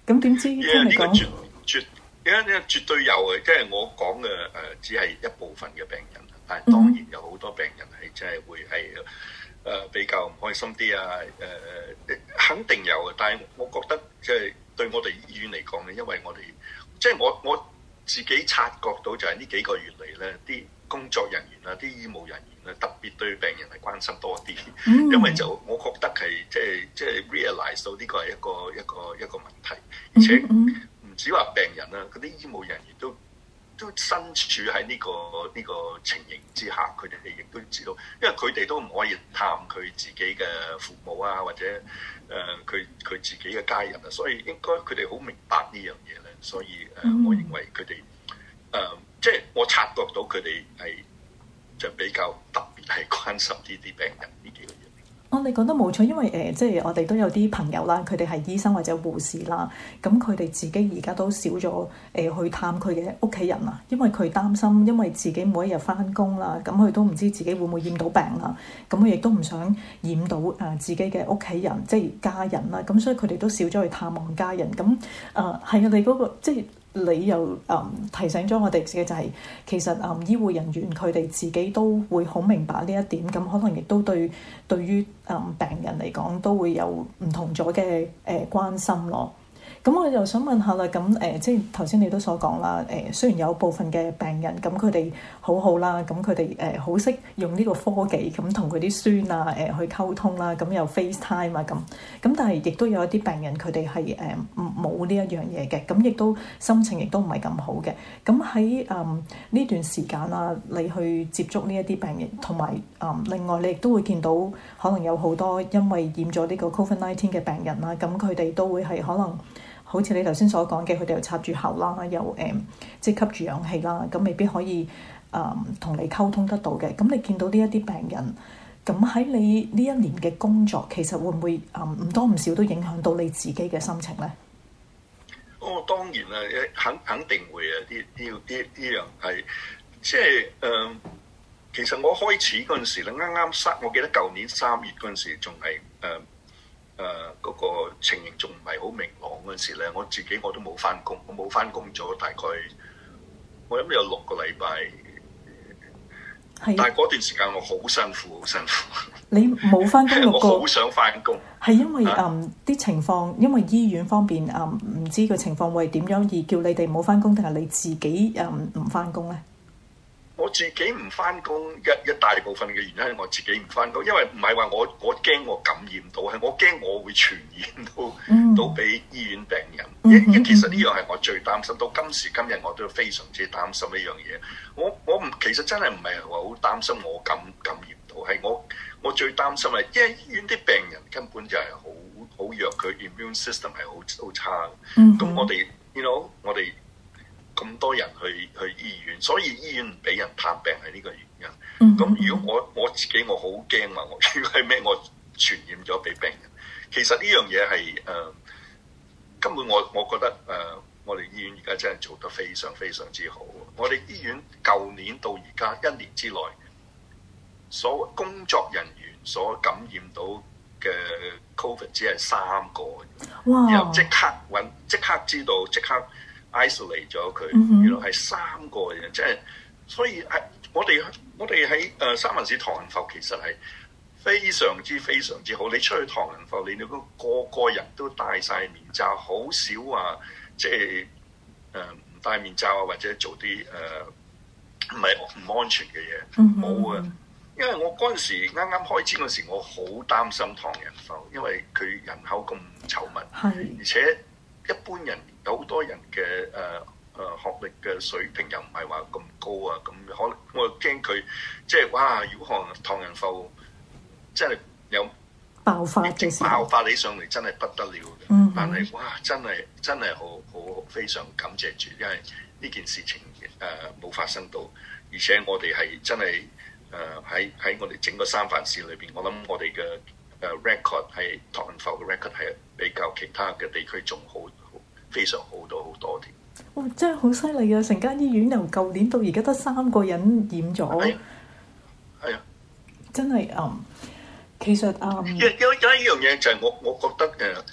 咁點知聽你講？ 絕絕，因為絕對有嘅，即係我講嘅誒，只係一部分嘅病人，但係當然有好多病人係真係會係誒比較唔開心啲啊，誒肯定有嘅。但係我覺得即係對我哋醫院嚟講咧，因為我哋即係我我自己察覺到就係呢幾個月嚟咧，啲工作人員啊，啲醫務人員咧，特別對病人係關心多啲，嗯、因為就我覺得係即係即係 realize 到呢個係一個一個一個問題，而且唔止話病人啦，嗰啲醫務人員都都身處喺呢個呢個情形之下，佢哋亦都知道，因為佢哋都唔可以探佢自己嘅父母啊，或者誒佢佢自己嘅家人啊，所以應該佢哋好明白呢樣嘢咧，所以誒，嗯、我認為佢哋誒即係我察覺到佢哋係就比較特別係關心呢啲病人呢幾個月。 我哋覺得冇錯，因為誒、呃，即係我哋都有啲朋友啦，佢哋係醫生或者護士啦，咁佢哋自己而家都少咗誒、呃、去探佢嘅屋企人啊，因為佢擔心，因為自己每一日返工啦，咁佢都唔知自己會唔會染到病啦，咁佢亦都唔想染到誒、呃、自己嘅屋企人，即係家人啦，咁所以佢哋都少咗去探望家人。咁誒係啊，你嗰、那個即係。你又誒、嗯、提醒咗我哋嘅就係、是、其實誒、嗯、醫護人員佢哋自己都會好明白呢一點，咁可能亦都對對於誒、嗯、病人嚟講都會有唔同咗嘅誒關心咯。咁我又想問下啦，咁誒、呃、即係頭先你都所講啦，誒、呃、雖然有部分嘅病人咁佢哋好好啦，咁佢哋誒好識用呢個科技咁同佢啲孫啊誒、呃、去溝通啦，咁又 FaceTime 啊咁，咁但係亦都有一啲病人佢哋係誒冇呢一樣嘢嘅，咁亦都心情亦都唔係咁好嘅。咁喺誒呢段時間啊，你去接觸呢一啲病人，同埋誒另外你亦都會見到可能有好多因為染咗呢個 Covid nineteen 嘅病人啦，咁佢哋都會係可能。好似你頭先所講嘅，佢哋又插住喉啦，又誒、嗯、即係吸住氧氣啦，咁未必可以誒同、嗯、你溝通得到嘅。咁你見到呢一啲病人，咁喺你呢一年嘅工作，其實會唔會誒唔、嗯、多唔少都影響到你自己嘅心情咧？ 哦，當然啦，肯肯定會啊！呢呢呢呢樣係即係誒、呃，其實我開始嗰陣時咧，啱啱三，我記得舊年三月嗰陣時仲係誒。呃誒嗰、呃那個情形仲唔係好明朗嗰陣時咧，我自己我都冇返工，我冇返工咗大概，我諗有六個禮拜。係。但係嗰段時間我好辛苦，好辛苦。你冇返工六個？ 我好想返工。 係因為誒啲、嗯、情況，因為醫院方面誒唔、嗯、知個情況會點樣而叫你哋冇返工，定係你自己誒唔返工咧？ 我自己唔返工，一一大部分嘅原因係我自己唔返工，因為唔係話我我驚我感染到，係我驚我會傳染到、嗯、到俾醫院病人。因、嗯嗯、其實呢樣係我最擔心，到今時今日我都非常之擔心呢樣嘢。我我唔其實真係唔係話好擔心我感感染到，係我我最擔心係因為醫院啲病人根本就係好好弱，佢 immune system 係好好差。咁、嗯嗯、我哋 you know 我哋。咁多人去去醫院，所以醫院唔俾人探病係呢個原因。咁、mm hmm. 如果我我自己我好驚話，我如果係咩我傳染咗俾病人，其實呢樣嘢係誒根本我我覺得誒、呃、我哋醫院而家真係做得非常非常之好。我哋醫院舊年到而家一年之內，所工作人員所感染到嘅 Covid 只係三個，wow. 然後即刻揾即刻知道即刻。isolate 咗佢，原來係三個人，即係所以係我哋我哋喺誒三藩市唐人埠其實係非常之非常之好。你出去唐人埠，你哋個個個人都戴晒面罩，好少話即係誒唔戴面罩啊，或者做啲誒唔係唔安全嘅嘢，冇啊、嗯。因為我嗰陣時啱啱開始嗰時，我好擔心唐人埠，因為佢人口咁稠密， 是而且一般人。有好多人嘅誒誒學歷嘅水平又唔係話咁高啊，咁可能我又驚佢即係哇！如果可能唐人埠真係有爆發嘅時候， 爆發起上嚟真係不得了嘅。 嗯、哼但係哇，真係真係好好非常感謝住，因為呢件事情誒冇、呃、發生到，而且我哋係真係誒喺喺我哋整個三藩市裏邊，我諗我哋嘅誒 record 係唐人埠嘅 record 係比較其他嘅地區仲好。非常好多好多添！ 哇，真係好犀利啊！成間醫院由舊年到而家得三個人染咗，係啊， 係啊， 真係嗯，其實嗯， 有有有一樣嘢就係我我覺得誒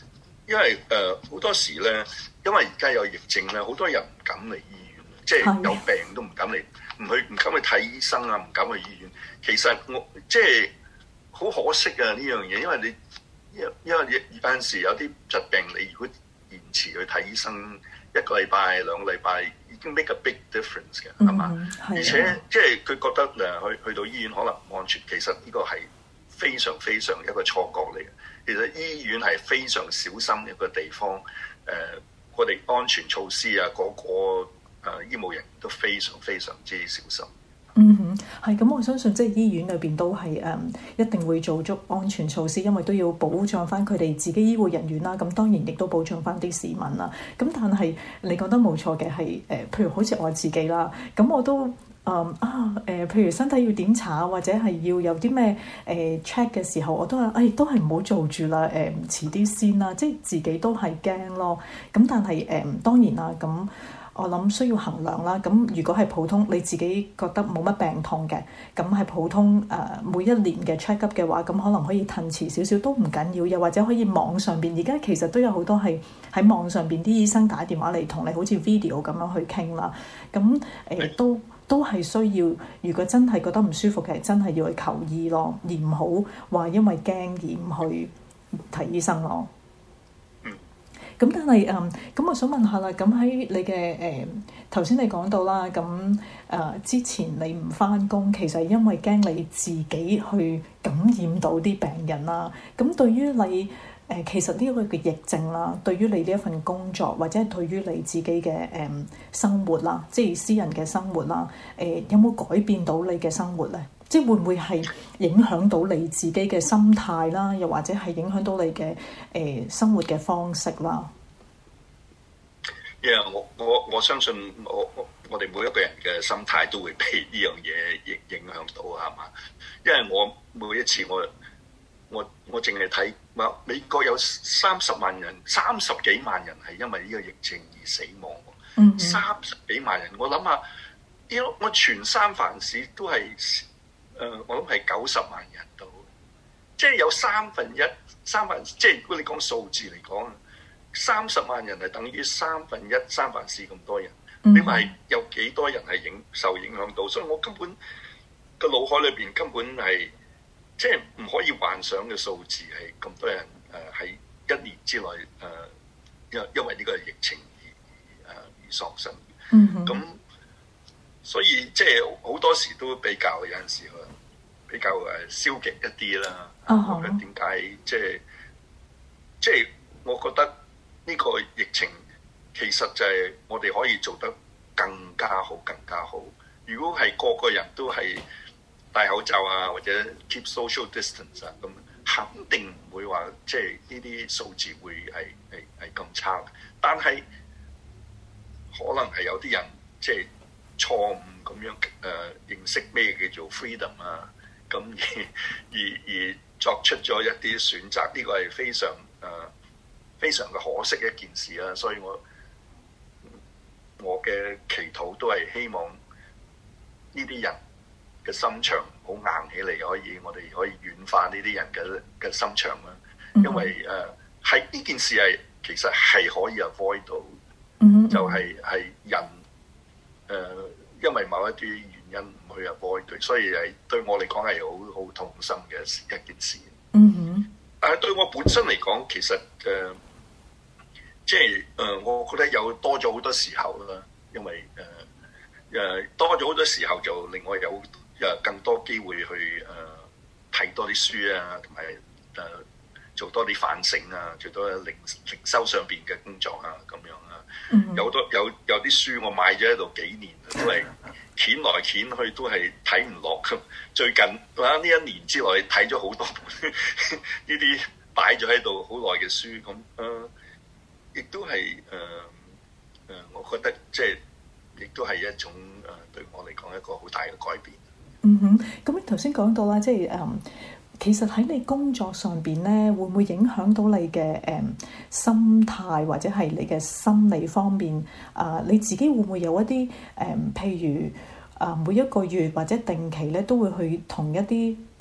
因為誒好、呃、多時咧，因為而家有疫症咧，好多人唔敢嚟醫院，即係有病都唔敢嚟，唔去唔敢去睇醫生啊，唔敢去醫院。其實我即係好可惜啊呢樣嘢，因為你因因為有陣時有啲疾病，你如果延遲去睇醫生一個禮拜兩個禮拜，已經 make a big difference 嘅，係嘛？嗯、而且即係佢覺得誒去去到醫院可能唔安全，其實呢個係非常非常一個錯覺嚟嘅。其實醫院係非常小心一個地方，誒、呃，我哋安全措施啊，個個誒、呃、醫務人員都非常非常之小心。 嗯哼，係咁，我相信即係醫院裏邊都係誒、嗯、一定會做足安全措施，因為都要保障翻佢哋自己醫護人員啦。咁當然亦都保障翻啲市民啦。咁但係你講得冇錯嘅係誒，譬如好似我自己啦，咁我都。誒、um, 啊誒、呃，譬如身體要檢查或者係要有啲咩誒 check 嘅時候，我都話誒、哎、都係唔好做住啦，誒、呃、遲啲先啦，即係自己都係驚咯。咁但係誒、呃、當然啦，咁我諗需要衡量啦。咁如果係普通你自己覺得冇乜病痛嘅，咁係普通誒、呃、每一年嘅 check up 嘅話，咁可能可以褪遲少少都唔緊要，又或者可以網上邊，而家其實都有好多係喺網上邊啲醫生打電話嚟同你好似 video 咁樣去傾啦。咁誒、呃、都。都係需要，如果真係覺得唔舒服嘅，真係要去求醫咯，而唔好話因為驚而唔去睇醫生咯。嗯。咁但係誒，咁、嗯、我想問下啦，咁喺你嘅誒頭先你講到啦，咁誒、呃、之前你唔返工，其實因為驚你自己去感染到啲病人啦。咁對於你，誒、呃、其實呢個嘅疫症啦，對於你呢一份工作或者係對於你自己嘅誒、呃、生活啦，即係私人嘅生活啦，誒、呃、有冇改變到你嘅生活咧？即係會唔會係影響到你自己嘅心態啦？又或者係影響到你嘅誒、呃、生活嘅方式啦？ 因為、yeah, 我我我相信我我我哋每一個人嘅心態都會被呢樣嘢影影響到，係嘛？因為我每一次我。我我淨係睇，話美國有三十萬人、三十幾萬人係因為呢個疫情而死亡。嗯、mm，三十幾萬人，我諗下，呢我全三藩市都係，誒、呃，我諗係九十萬人到，即係有三分一、三分，即係如果你講數字嚟講，三十萬人係等於三分一三藩市咁多人。Mm hmm. 你話係有幾多人係影受影響到？所以我根本個腦海裏邊根本係。即係唔可以幻想嘅數字係咁多人誒喺、呃、一年之內誒，因、呃、因為呢個疫情而誒、呃、而喪生。嗯哼。咁所以即係好多時都比較有陣時比較誒消極一啲啦。啊哈。點解即係即係我覺得呢個疫情其實就係我哋可以做得更加好、更加好。如果係個個人都係戴口罩啊，或者 keep social distance 啊，咁肯定唔會話即係呢啲數字會係係係咁差。但係可能係有啲人即係錯誤咁樣誒、呃、認識咩叫做 freedom 啊，咁而而而作出咗一啲選擇，呢、這個係非常誒、呃、非常嘅可惜一件事啦。所以我我嘅祈禱都係希望呢啲人嘅心腸好硬起嚟，可以我哋可以軟化呢啲人嘅嘅心腸啦。因為誒係呢件事係其實係可以 avoid 到，嗯、就係係人誒、呃、因為某一啲原因唔去 avoid，所以係對我嚟講係好好痛心嘅一件事。嗯哼，但係對我本身嚟講，其實誒、呃、即係誒、呃，我覺得有多咗好多時候啦，因為誒誒、呃、多咗好多時候就令我有。誒更多機會去誒睇、呃、多啲書啊，同埋誒做多啲反省啊，做多靈靈修上邊嘅工作啊，咁樣啊。Mm hmm. 有多有有啲書我買咗喺度幾年，都係掀來掀去都係睇唔落。最近啊呢一年之內睇咗好多本呢啲擺咗喺度好耐嘅書，咁誒亦都係誒誒，我覺得即係亦都係一種誒、呃、對我嚟講一個好大嘅改變。 嗯哼，咁你頭先講到啦，即係誒、嗯，其實喺你工作上邊咧，會唔會影響到你嘅誒、嗯、心態或者係你嘅心理方面？啊、呃，你自己會唔會有一啲誒、嗯，譬如啊、呃，每一個月或者定期咧，都會去同一啲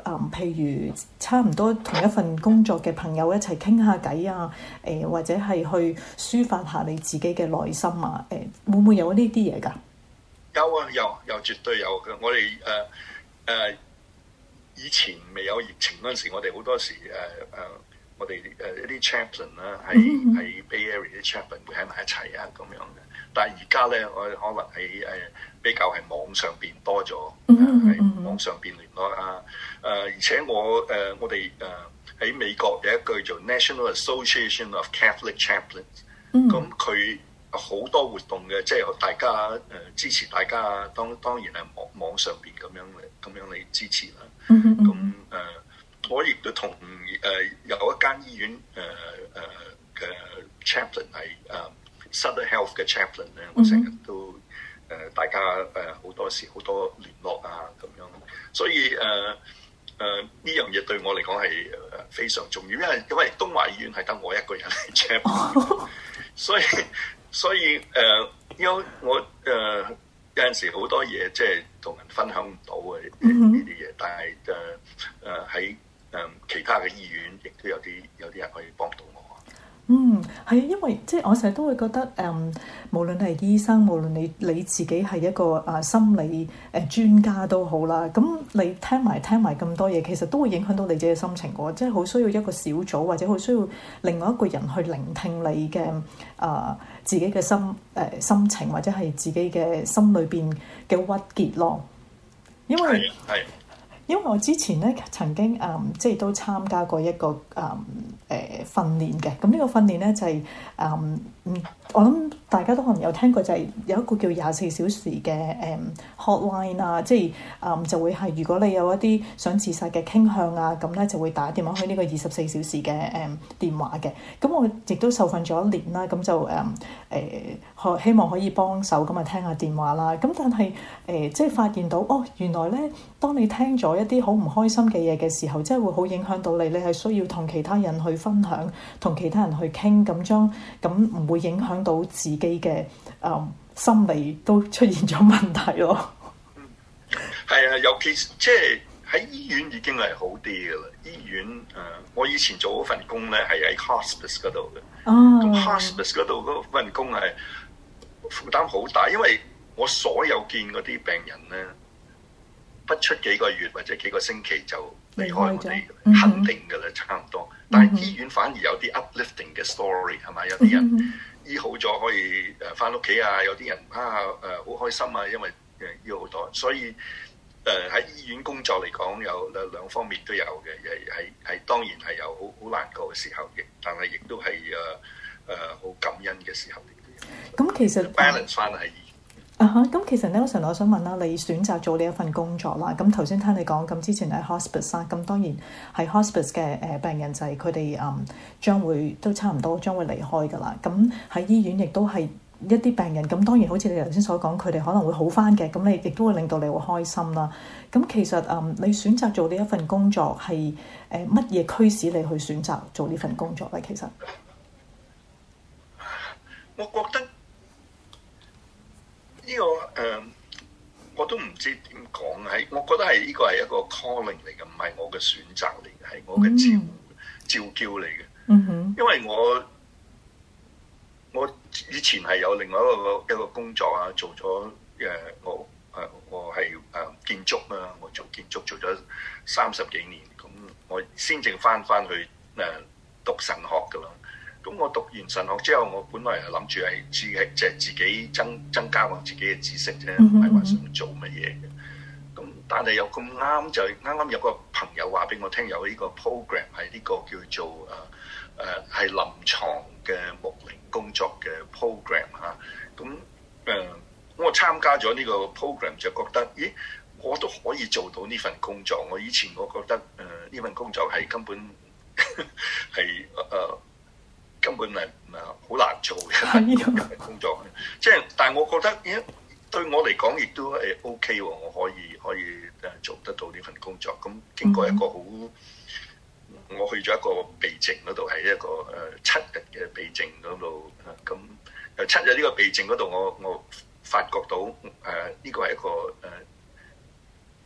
嗯，譬如差唔多同一份工作嘅朋友一齊傾下偈啊，誒、呃、或者係去抒發下你自己嘅內心啊，誒、呃、會唔會有呢啲嘢㗎？ 有啊，有有絕對有嘅。我哋誒誒以前未有疫情嗰陣時，我哋好多時誒誒、呃呃、我哋誒一啲 chaplain 啦，喺喺 Bay Area 啲 chaplain 會喺埋一齊啊咁樣嘅。但係而家咧，我可能喺誒比較係網上邊多咗，喺、呃、網上邊聯絡啊。誒、呃、而且我誒、呃、我哋誒喺美國有一個叫做 National Association of Catholic Chaplains，咁佢好多活動嘅，即係大家誒、呃、支持大家，當當然係網網上邊咁樣嚟咁樣嚟支持啦。咁誒、mm hmm. 呃，我亦都同誒、呃、有一間醫院誒誒嘅 chaplain 係誒 Southern Health 嘅 chaplain 咧，我成日都誒、呃、大家誒好、呃、多時好多聯絡啊咁樣，所以誒誒呢樣嘢對我嚟講係誒非常重要，因為因為東華醫院係得我一個人係 chaplain，所以。所以誒，因、呃、為我誒、呃、有陣時好多嘢即係同人分享唔到嘅呢啲嘢，但係誒誒喺誒其他嘅醫院亦都有啲有啲人可以幫到我。 嗯，係啊，因為即係我成日都會覺得誒、嗯，無論係醫生，無論你你自己係一個啊心理誒專家都好啦，咁你聽埋聽埋咁多嘢，其實都會影響到你自己嘅心情嘅，即係好需要一個小組或者好需要另外一個人去聆聽你嘅啊、呃、自己嘅心誒、呃、心情或者係自己嘅心裏邊嘅鬱結咯，因為係。因為我之前咧曾經誒、嗯、即係都參加過一個誒誒、嗯呃、訓練嘅，咁呢個訓練咧就係、是、誒嗯，我諗大家都可能有聽過，就係有一個叫廿四小時嘅誒、嗯、hotline 啊，即係誒、嗯、就會係如果你有一啲想自殺嘅傾向啊，咁咧就會打電話去呢個二十四小時嘅誒、嗯、電話嘅。咁我亦都受訓咗一年啦，咁就誒誒、呃、希望可以幫手咁啊聽下電話啦。咁但係誒、呃、即係發現到哦，原來咧當你聽咗一啲好唔開心嘅嘢嘅時候，即係會好影響到你。你係需要同其他人去分享，同其他人去傾，咁將咁唔會影響到自己嘅誒、呃、心理都出現咗問題咯。 嗯，係啊，尤其即係喺醫院已經係好啲嘅啦。醫院誒、呃，我以前做嗰份工咧係喺 hospice 嗰度嘅。哦，咁 hospice 嗰度嗰份工係負擔好大，因為我所有見嗰啲病人咧，不出幾個月或者幾個星期就離開我哋，嗯、肯定㗎啦，差唔多。但係醫院反而有啲 uplifting 嘅 story 係咪？有啲人醫好咗可以誒返屋企啊，有啲人啊誒好、呃、開心啊，因為誒醫好多。所以誒喺、呃、醫院工作嚟講，有兩兩方面都有嘅，係係當然係有好好難過嘅時候，亦但係亦都係誒誒好感恩嘅時候。 咁其實 balance 翻係。 啊哈！咁其實 Nelson，我想問啦，你選擇做呢一份工作啦，咁頭先聽你講，咁之前喺 hospice 啦，咁當然係 hospice 嘅誒病人就係佢哋誒將會都差唔多將會離開㗎啦。咁喺醫院亦都係一啲病人，咁當然好似你頭先所講，佢哋可能會好返嘅，咁你亦都會令到你會開心啦。咁其實誒、嗯，你選擇做呢一份工作係誒乜嘢驅使你去選擇做呢份工作咧？其實我覺得。呢、這個誒、呃，我都唔知點講，係我覺得係呢個係一個 calling 嚟嘅，唔係我嘅選擇嚟嘅，係我嘅召、mm hmm. 召叫嚟嘅。嗯哼、mm，hmm. 因為我我以前係有另外一個一個工作啊，做咗誒、呃、我誒、呃、我係誒、呃、建築啊，我做建築做咗三十幾年，咁我先正翻翻去誒、呃、讀神學㗎啦。咁我讀完神學之後，我本來係諗住係自己即係自己增增加我自己嘅知識啫，唔係話想做乜嘢嘅。咁但係又咁啱就啱啱有個朋友話俾我聽，有呢個 program 係呢個叫做誒誒係臨床嘅牧靈工作嘅 program 嚇。咁誒、呃、我參加咗呢個 program 就覺得，咦，我都可以做到呢份工作。我以前我覺得誒呢、呃、份工作係根本係誒。呃根本係唔係好難做嘅工作，即係但係我覺得，咦，對我嚟講亦都係 O K 喎，我可以可以誒做得到呢份工作。咁經過一個好，我去咗一個避靜嗰度，係一個誒、呃、七日嘅避靜嗰度，咁、呃、誒七日呢個避靜嗰度，我我發覺到誒呢、呃這個係一個誒係、呃、一個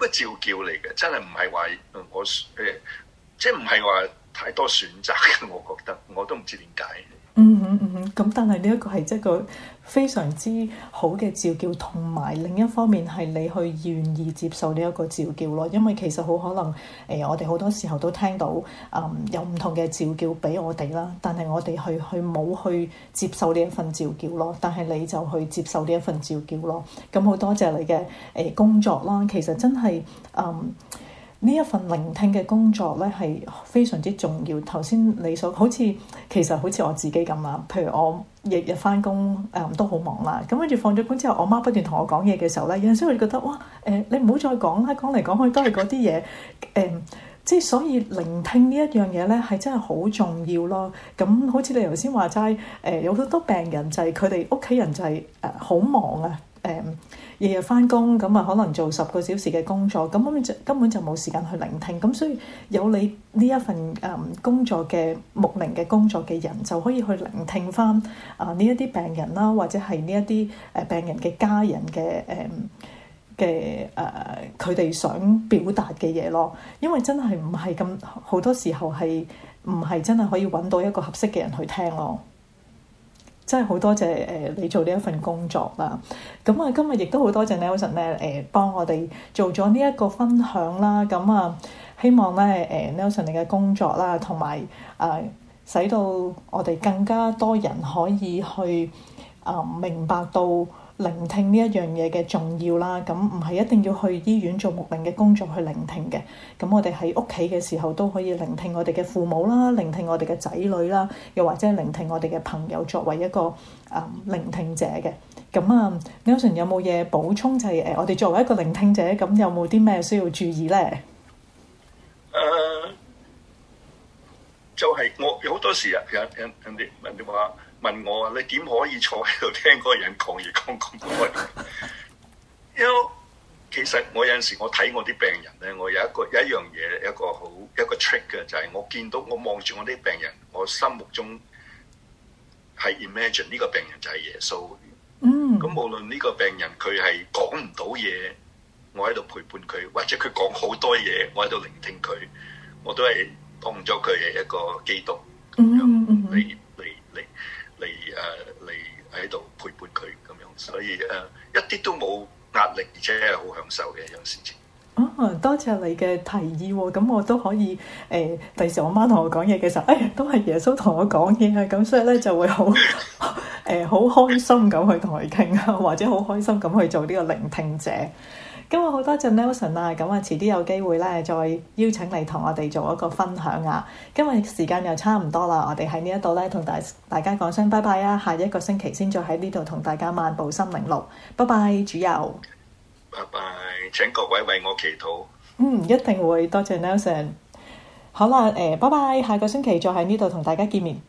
召叫嚟嘅，真係唔係話我誒，即係唔係話太多選擇嘅。我覺得我都唔知點解。 嗯哼嗯哼，咁但係呢一個係即係一個非常之好嘅召叫，同埋另一方面係你去願意接受呢一個召叫咯。因為其實好可能誒、呃，我哋好多時候都聽到誒、嗯、有唔同嘅召叫俾我哋啦，但係我哋去去冇去接受呢一份召叫咯。但係你就去接受呢一份召叫咯。咁好多謝你嘅誒、呃、工作啦。其實真係誒呢一份聆聽嘅工作咧係非常之重要。頭先你所好似其實好似我自己咁啦，譬如我日日翻工誒都好忙啦，咁跟住放咗工之後，我媽不斷同我講嘢嘅時候咧，有陣時我就覺得哇誒、呃，你唔好再講啦，講嚟講去都係嗰啲嘢誒，即係所以聆聽呢一樣嘢咧係真係好重要咯。咁好似你頭先話齋誒，有好多病人就係佢哋屋企人就係誒好忙啊誒。呃日日翻工咁啊，可能做十個小時嘅工作，咁根本就根本就冇時間去聆聽。咁所以有你呢一份誒、嗯、工作嘅牧靈嘅工作嘅人，就可以去聆聽翻啊呢一啲病人啦，或者係呢一啲誒病人嘅家人嘅誒嘅誒佢哋想表達嘅嘢咯。因為真係唔係咁好多時候係唔係真係可以揾到一個合適嘅人去聽咯。真係好多謝誒、呃、你做呢一份工作啦。咁啊，今日亦都好多謝 Nelson 咧誒、呃、幫我哋做咗呢一個分享啦。咁啊，希望咧誒、呃、Nelson 你嘅工作啦，同埋誒使到我哋更加多人可以去啊、呃、明白到聆聽呢一樣嘢嘅重要啦。咁唔係一定要去醫院做牧靈嘅工作去聆聽嘅。咁我哋喺屋企嘅時候都可以聆聽我哋嘅父母啦，聆聽我哋嘅仔女啦，又或者係聆聽我哋嘅朋友作為一個啊、嗯、聆聽者嘅。咁啊 Nelson 有冇嘢補充？就係、是、誒我哋作為一個聆聽者，咁有冇啲咩需要注意咧？ 誒、uh, 就係我有好多時啊，有人人哋人哋話問我啊，你點可以坐喺度聽嗰個人講嘢講咁耐？因為其實我有陣時我睇我啲病人咧，我有一個有一樣嘢，一個好一個 trick 嘅，就係、是、我見到我望住我啲病人，我心目中係 imagine 呢個病人就係耶穌。嗯。咁無論呢個病人佢係講唔到嘢，我喺度陪伴佢，或者佢講好多嘢，我喺度聆聽佢，我都係當咗佢係一個基督咁樣嚟嚟嚟嚟誒嚟喺度陪伴佢咁樣，所以誒、uh, 一啲都冇壓力，而且係好享受嘅一樣事情。 哦，多謝你嘅提議喎，咁我都可以誒，第時我媽同我講嘢嘅時候，誒都係耶穌同我講嘢啊，咁所以咧就會好誒好開心咁去同佢傾啊，或者好開心咁去做呢個聆聽者。今日好多謝 Nelson 啊，咁啊遲啲有機會咧再邀請你同我哋做一個分享啊。今日時間又差唔多啦，我哋喺呢一度咧同大大家講聲拜拜啊，下一個星期先再喺呢度同大家漫步心靈路，拜拜，主佑。 拜拜，請各位為我祈禱。 嗯，一定會，多謝 Nelson。好啦，誒、呃，拜拜，下個星期再喺呢度同大家見面。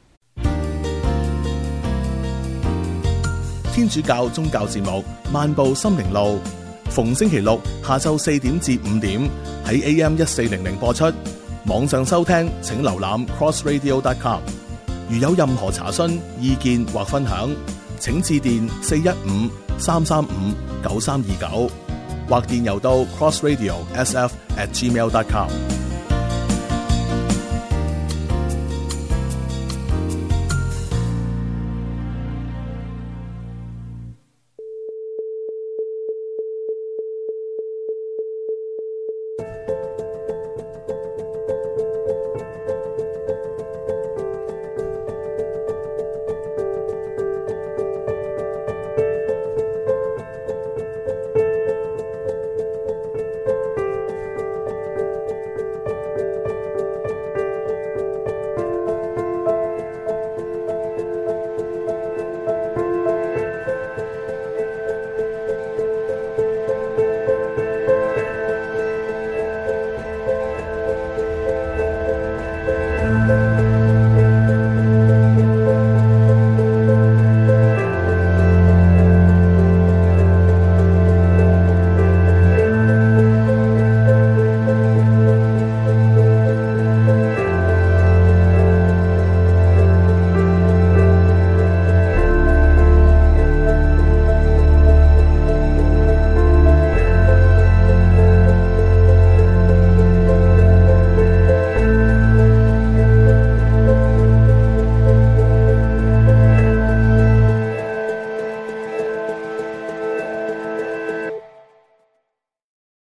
天主教宗教節目《漫步心靈路》，逢星期六下晝四點至五點喺 A M 一四零零播出。網上收聽請瀏覽 cross radio dot com。如有任何查詢、意見或分享，請致電四一五三三五九三二九。或電郵到 crossradio s f at gmail dot com。